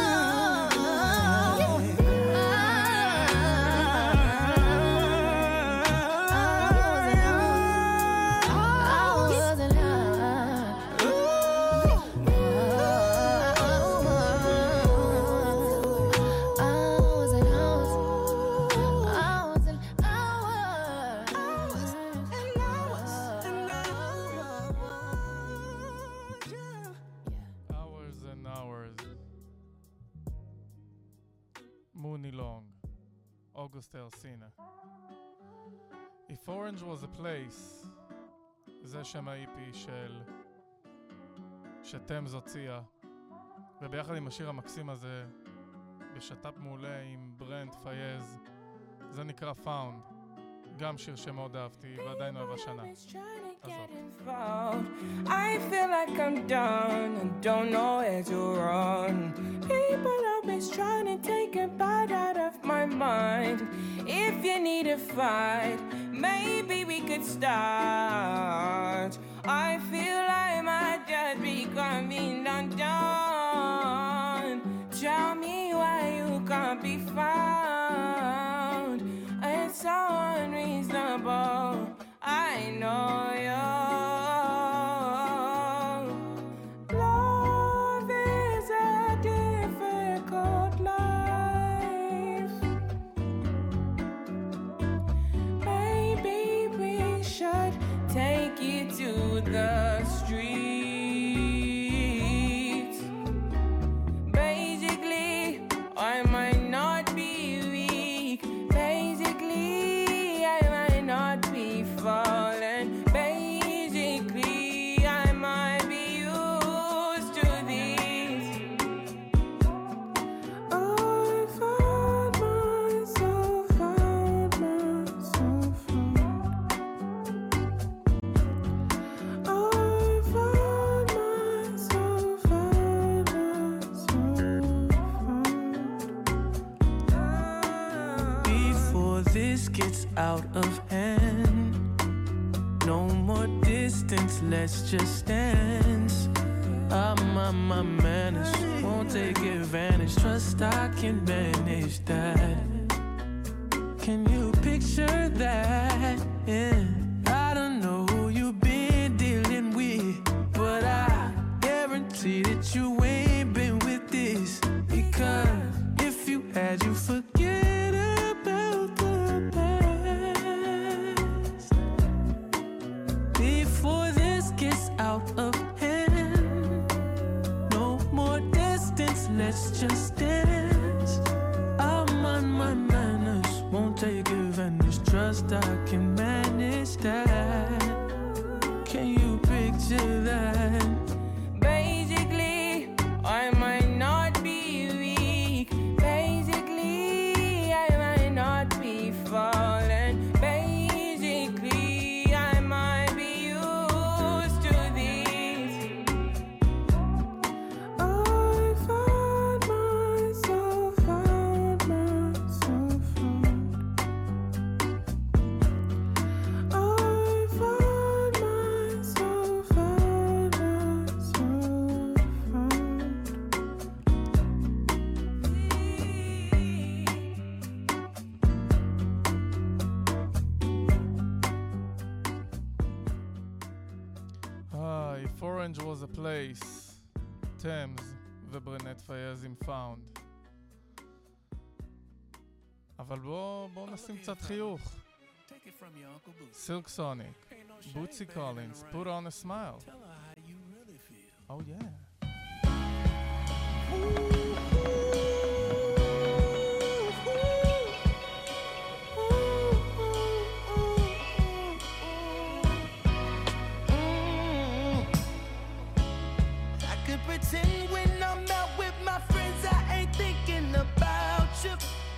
Mooney Long, August Elsina. If Orange was a place, זה שם ה-אי פי של שתמז הוציאה, וביחד עם השיר המקסים הזה בשת"פ מעולה עם ברנט פייז, זה נקרא Found, גם שיר שמאוד אהבתי ועדיין אוהב השנה. הזאת. I feel like I'm done and don't know where to run. People always trying to take a bite out of my mind. If you need a fight, maybe we could start. I feel I might just be coming undone. Tell me why you can't be found. It's so unreasonable. I know you. Love is a difficult life. Maybe we should take you to the streets. Basically, I might not be weak. Basically, I might not be falling. Basically, I might be used to these. I found myself, found myself. I found myself, found myself. Before this gets out of hand, no more distance, let's just dance. I'm on my manners, won't take advantage. Trust I can manage that. Can you picture that? Yeah. I don't know who you've been dealing with, but I guarantee that you ain't been with this. Because if you had, you forget about the past. Before this gets out of hand, no more distance, let's just dance. I'm on my manners, won't take advantage. Trust I can manage that. Can you picture that? Basically, I might not be weak. Basically, I might not be falling. Basically, I might be used to these. I found myself, found myself. I found myself, found Ah, if Orange was a place, Thames וברנט פייז עם פאונד. אבל בואו בוא נשים קצת חיוך. סילק סוניק, בוטסי קולינס, put on a smile. Oh yeah. I could pretend when I'm out with my friends I ain't thinking about you.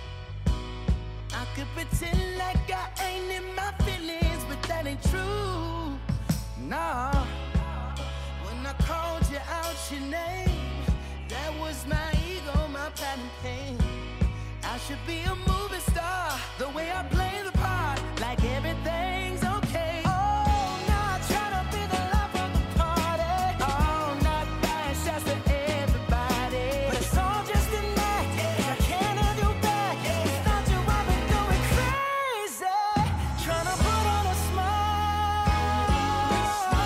I could pretend like I ain't in my feelings, but that ain't true. Nah. When I called you out your name, that was my ego, my pride and pain. I should be a movie star, the way I play the part, like everything's okay. Oh, not trying to be the life of the party. Oh, not buying shots to everybody. But it's all just an act, I can't have you back. Without you I've been going crazy, trying to put on a smile,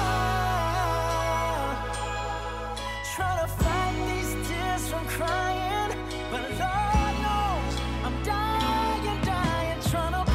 trying to fight these tears from crying. But Lord knows I'm dying, dying, trying to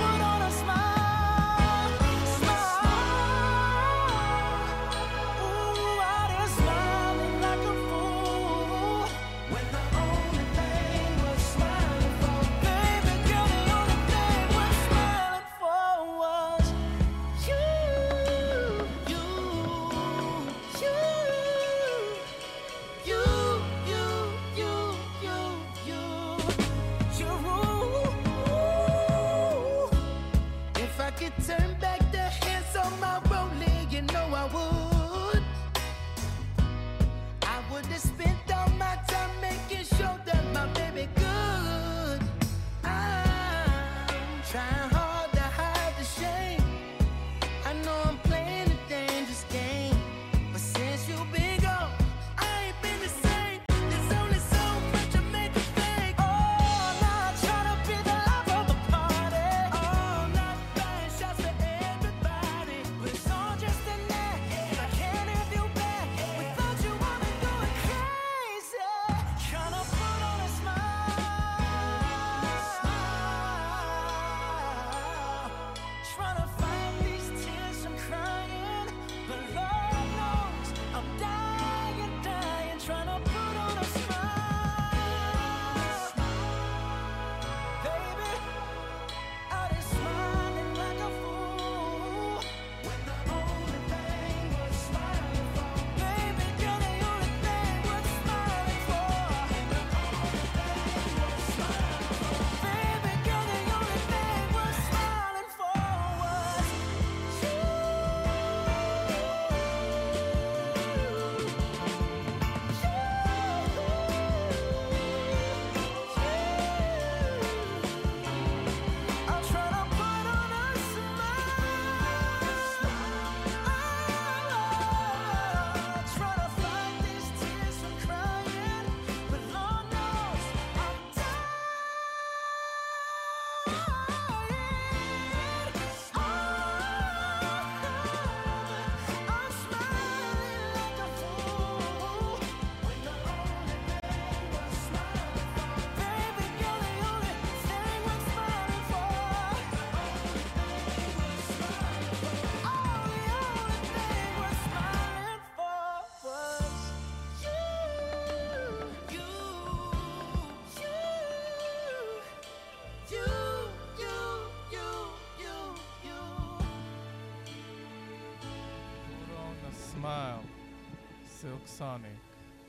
Sonic.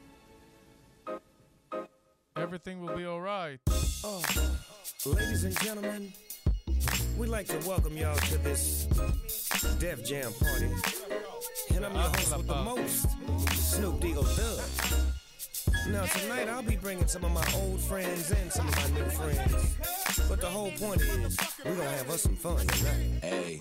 Everything will be alright. Oh, ladies and gentlemen, we'd like to welcome y'all to this Def Jam party. And I'm your host with the most, Snoop Deagle Thug. Now tonight I'll be bringing some of my old friends and some of my new friends. But the whole point is, we're gonna have us some fun tonight. Hey,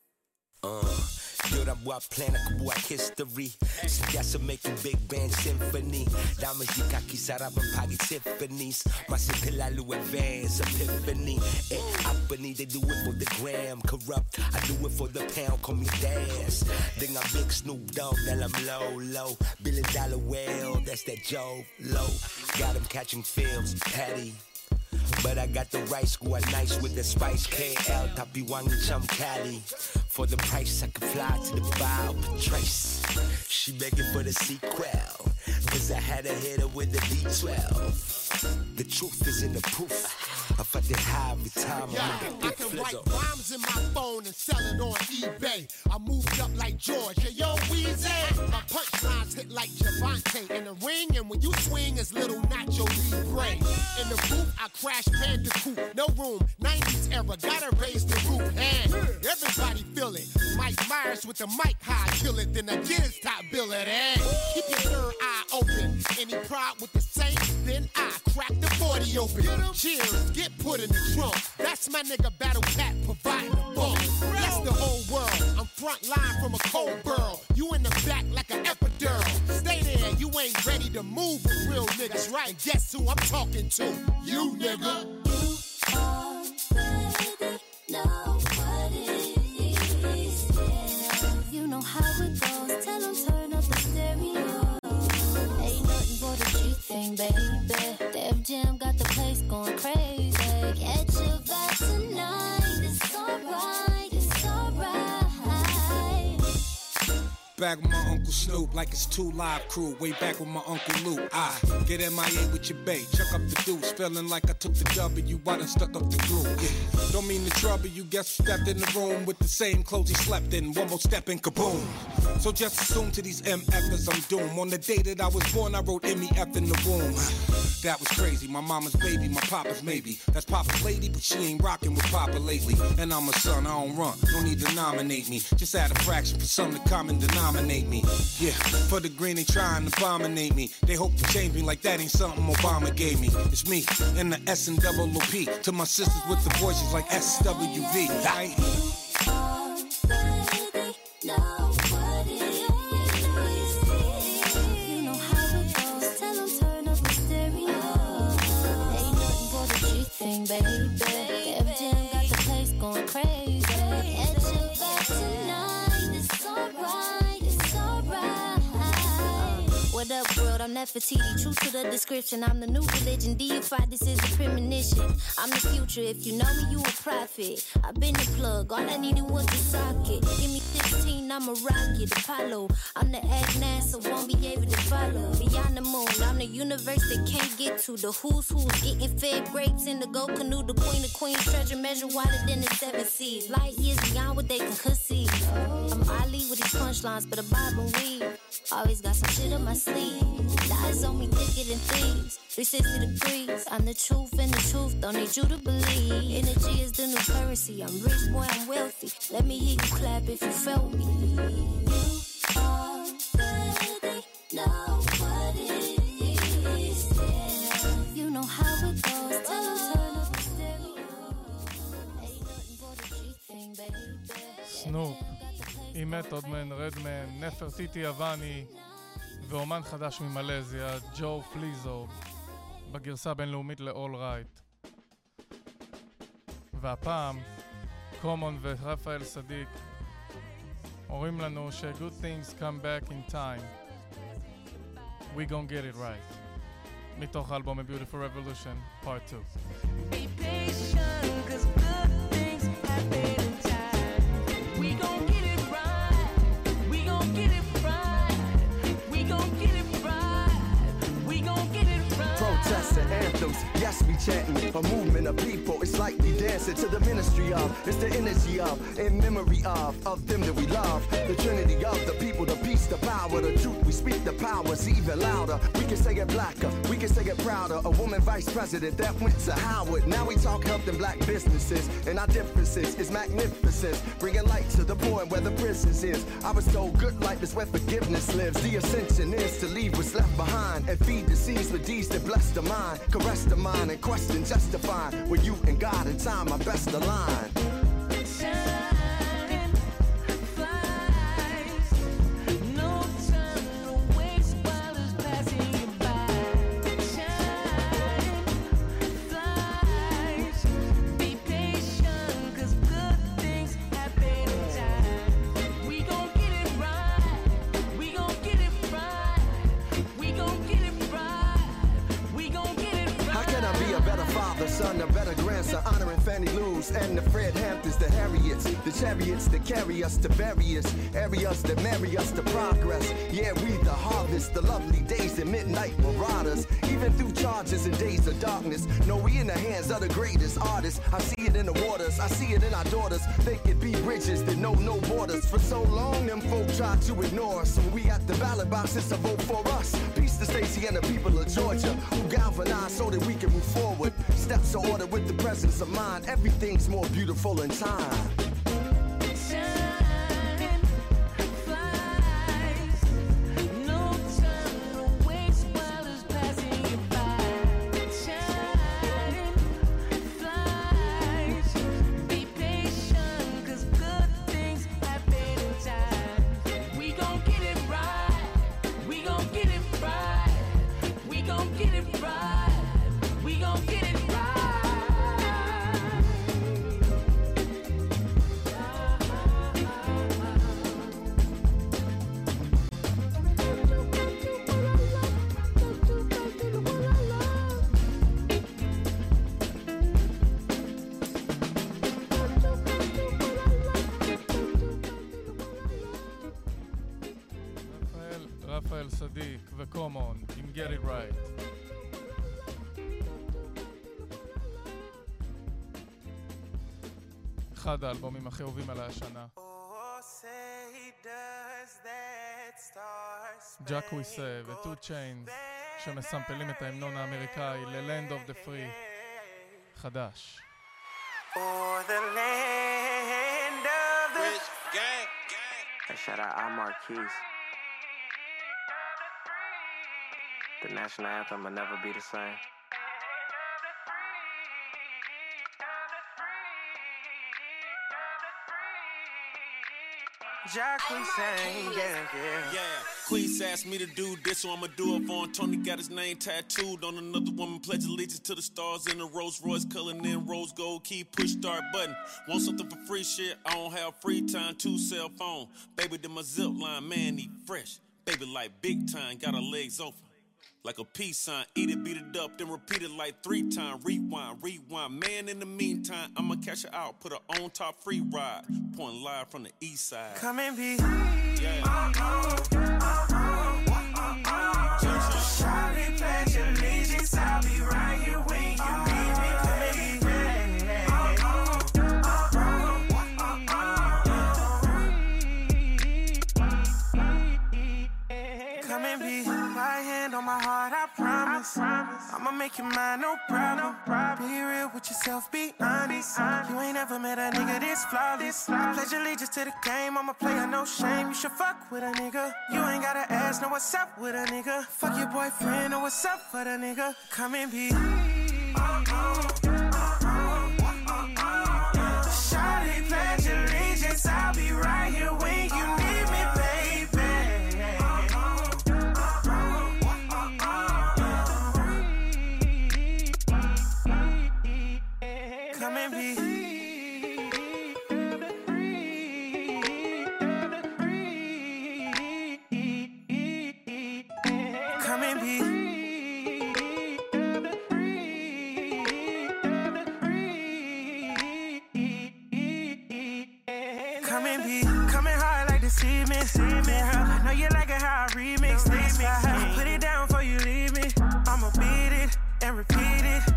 uh, 여러분과 플래너와 history. Suggestion making big band symphony. Diamonds you kaki sarap and pagi Tiffany's. Masipilalo advance epiphany. Eh, Apani, they do it for the gram. Corrupt, I do it for the pound. Call me Daz. Then I'm big Snoop Dogg, then I'm low, low. Billion dollar whale, that's that Joe Low. Got him catching films, Patty. But I got the right squad nice with the spice. K L, Tapi Wang Chum Cali. For the price, I can fly to the bow, Patrice. She begging for the sequel. Cause I had to hit her with the D twelve. The truth is in the proof. I fucked it high every time. Yeah, I can write rhymes in my phone and sell it on eBay. I moved up like George, yeah, yo, Weezy. My punchlines hit like Javante in the ring, and when you swing, it's little Nacho Libre. In the booth, I crash Bandicoot, no room, nineties era, gotta raise the roof, and everybody feel it. Mike Myers with the mic high, kill it, then I get his top billet, and keep your third eye open. Any pride with the Saints, then I crack the forty open. Cheers, get put in the trunk. That's my nigga Battle Cat providing the funk. That's the whole world. I'm front line from a cold burl. You in the back like an epidural. Stay there, you ain't ready to move with real niggas, right? And guess who I'm talking to? You, nigga. You already know what it is. Yeah. You know how it goes. Tell them turn up the stereo. Ain't nothing but a G thing, baby. Def Jam got the place going crazy. Catch your vibe tonight. It's alright, it's alright. Back with my Uncle Snoop like it's two live crew. Way back with my Uncle Luke. I get M I A with your bae. Chuck up the deuce. Feeling like I took the W. I done stuck up the groove. Yeah. Don't mean to trouble you. Guess who stepped in the room with the same clothes he slept in. One more step and kaboom. So just assume to these M F'ers I'm doomed. On the day that I was born, I wrote M E F in the womb. That was crazy. My mama's baby, my papa's maybe. That's Papa's lady, but she ain't rocking with Papa lately. And I'm a son, I don't run. No need to nominate me. Just add a fraction for some to common denominate me. Yeah, for the green they trying to abominate me. They hope to change me like that ain't something Obama gave me. It's me and the S and double O P. To my sisters with the voices like S W V. Right? Baby, Def Jam got the place going crazy. Catch your vibe tonight. It's alright, it's alright. What up, world? I'm Nefertiti. True to the description. I'm the new religion. Deified, this is a premonition. I'm the future. If you know me, you a prophet. I've been the plug. All I needed was the socket. Give me sixteen, I'm a rocket. Apollo. I'm the egg NASA, won't be able to follow. Beyond the moon, I'm the universe they can't get to. The who's who's getting fed grapes in the gold canoe. The queen of queens, treasure measure wider than the seven seas. Light years beyond what they can conceive. I'm Ali with these punchlines, but a bob and weave. Always got some shit up my sleeve. The eyes on me thicker than thieves. three sixty degrees. I'm the truth and the truth. Don't need you to believe. Energy is the new currency. I'm rich, boy, I'm wealthy. Let me hear you clap if you felt me. You already know what it is. Yeah. You know how it goes. Tell them turn up the stereo. Ain't nothing but a G thing, baby. סנופ, עם מתוד מן, רדמן, נפרטיטי יווני ואומן חדש ממלזיה, ג'ו פליזו, בגרסה הבינלאומית ל-All Right. והפעם, קומון ורפאל סדיק אומרים לנו ש- good things come back in time. We gon' get it right. מתוך האלבום A Beautiful Revolution, Part two. Be patient, cause good things happen in time. We gon' get it right. We gon' get it right. We gon' get it right. We gon' get it right. Protest the anthem peace. Yes, we chanting a movement of people. It's like we dancing to the ministry of. It's the energy of, in memory of, of them that we love. The trinity of the people, the peace, the power, the truth. We speak the power's even louder. We can say it blacker, we can say it prouder. A woman vice president that went to Howard. Now we talk helping black businesses, and our differences is magnificent. Bringing light to the poor and where the prisons is. I was told good life is where forgiveness lives. The ascension is to leave what's left behind and feed the seeds with deeds that bless the mind. Caress the mind and question justify where you and God in time are best aligned. Son, a better grandson, honoring Fannie Lou's and the Fred Hamptons, the Harriets, the chariots that carry us to various areas that marry us to progress. Yeah, we the harvest, the lovely days and midnight marauders. Even through charges and days of darkness, no, we in the hands of the greatest artists. I see it in the waters, I see it in our daughters. They could be bridges that know no borders. For so long, them folk tried to ignore us. When we at the ballot boxes to vote for us. Peace to Stacey and the people of Georgia, who galvanized so that we can move forward. Steps are ordered with the presence of mind. Everything's more beautiful in time. רפאל סדיק וקומון עם Get It Right. אחד האלבומים הכי אהובים עליי השנה. ג'אק וויסה וטו צ'יינס שמסמפלים את ההמנון האמריקאי ל-Land of the Free חדש. For the land of the Rich gang, gang. Hey, shout out Al Marquise. The national anthem will never be the same. Jack, we sang, yeah, yeah. Yeah, Queez asked me to do this, so I'ma do it for him. Tony got his name tattooed on another woman. Pledge allegiance to the stars in a Rolls Royce, coloring in rose gold. Key, push start button. Want something for free shit? I don't have free time. Two cell phone. Baby, then my zip line, man, he fresh. Baby, like big time, got her legs open. Like a peace sign, eat it, beat it up, then repeat it like three times. Rewind, rewind. Man, in the meantime, I'ma cash her out, put her on top free ride. Pouring live from the east side. Come and be. Yeah. Shawty, pledge allegiance, I'll be right here when you need me. Come and be. Come and be. My hand on my heart, I promise. I'ma make you mine, no problem. Be real with yourself, be honest. You ain't ever met a nigga this flawless. I pledge allegiance to the game, I'm a player, no shame. You should fuck with a nigga. You ain't gotta ask, know what's up with a nigga. Fuck your boyfriend, know what's up for the nigga. Come and be. Shawty, pledge allegiance, I'll be right here when you need me, baby. Come and be. Come and be. Come and be. Coming hard like the cement. I know you like it how I remix this. I put it down before you leave me. I'ma beat it and repeat it.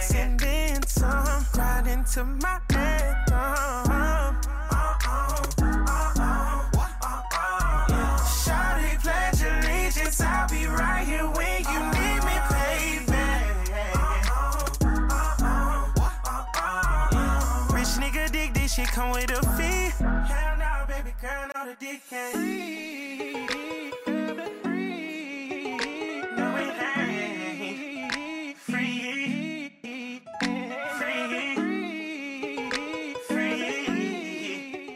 Rocks and then some, right into my anthem. Shawty, pledge allegiance, I'll be right here when you need me, baby. Rich nigga dig this shit come with a fee. Hell no, baby girl, no the dick can't free. No it ain't free. Free. Free.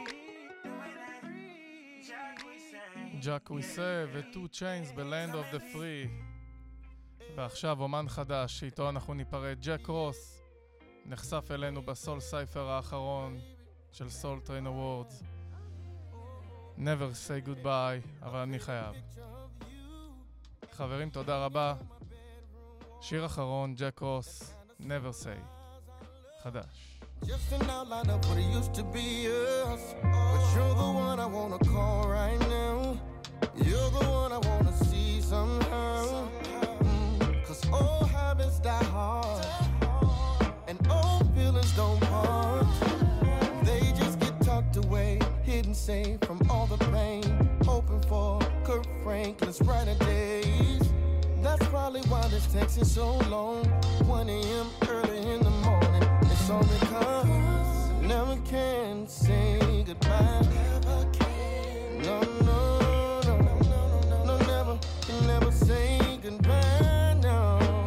ג'אק וויסה ו-Two Chainz ב-Land of the Free. ועכשיו אומן חדש שאיתו אנחנו ניפרד, ג'ק רוס, נחשף אלינו בסול סייפר האחרון של סול טריין אוורדס. Never say goodbye, אבל אני חייב. חברים, תודה רבה. שיר אחרון, ג'ק רוס, Never say. חדש. Just an outline of what it used to be us, but you're the one I wanna call right now. You're the one I wanna see somehow. Mm, Cause old habits die hard, and old feelings don't part. They just get tucked away, hidden safe from all the pain. Hoping for Kurt Franklin's brighter days. That's probably why this text is so long. one a.m. early in the morning. It's all because I never can say goodbye. Never can. No, no, no, no, no, no, never, can never say goodbye. No.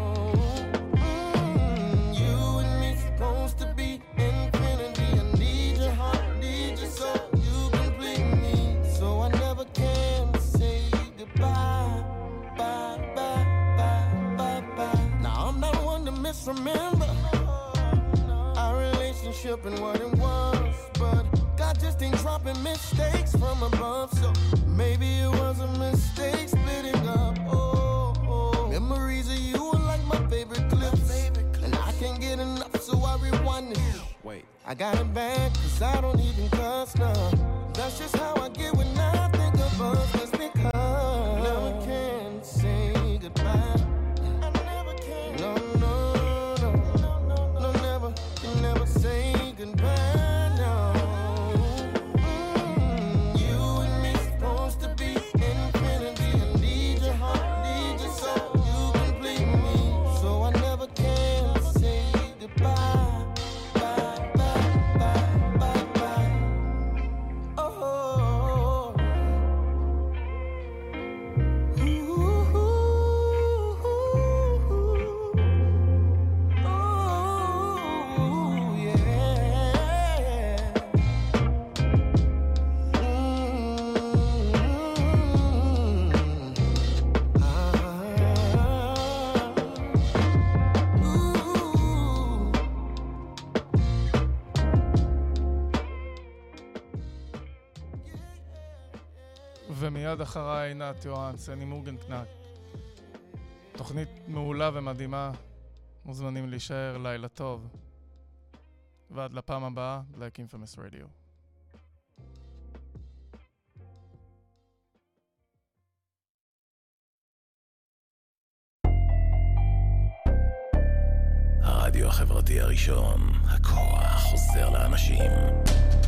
Mm, you and me supposed to be infinity. I need your heart, need your soul. You complete me, so I never can say goodbye. Bye, bye, bye, bye, bye. Now I'm not one to misremember our relationship and what it was, but God just ain't dropping mistakes from above, so maybe it was a mistake splitting up. Oh, oh. Memories of you are like my favorite clips, and I can't get enough, so I rewind it. Wait, I got it back, cause I don't even cuss now. That's just how I get when I think of us, just because I never can say goodbye. I never can. No, no. Never say goodbye, no. Mm, you and me supposed to be infinity. I need your heart, need your soul. You complete me, so I never can say goodbye. Bye, bye, bye, bye, bye. Oh. ומיד אחריי עינת יוהנסן עם מורגנקנק. תוכנית מעולה ומדהימה, מוזמנים להישאר, לילה טוב. ועד לפעם הבאה, Black Infamous Radio. הרדיו החברתי הראשון, הכוח חוזר לאנשים.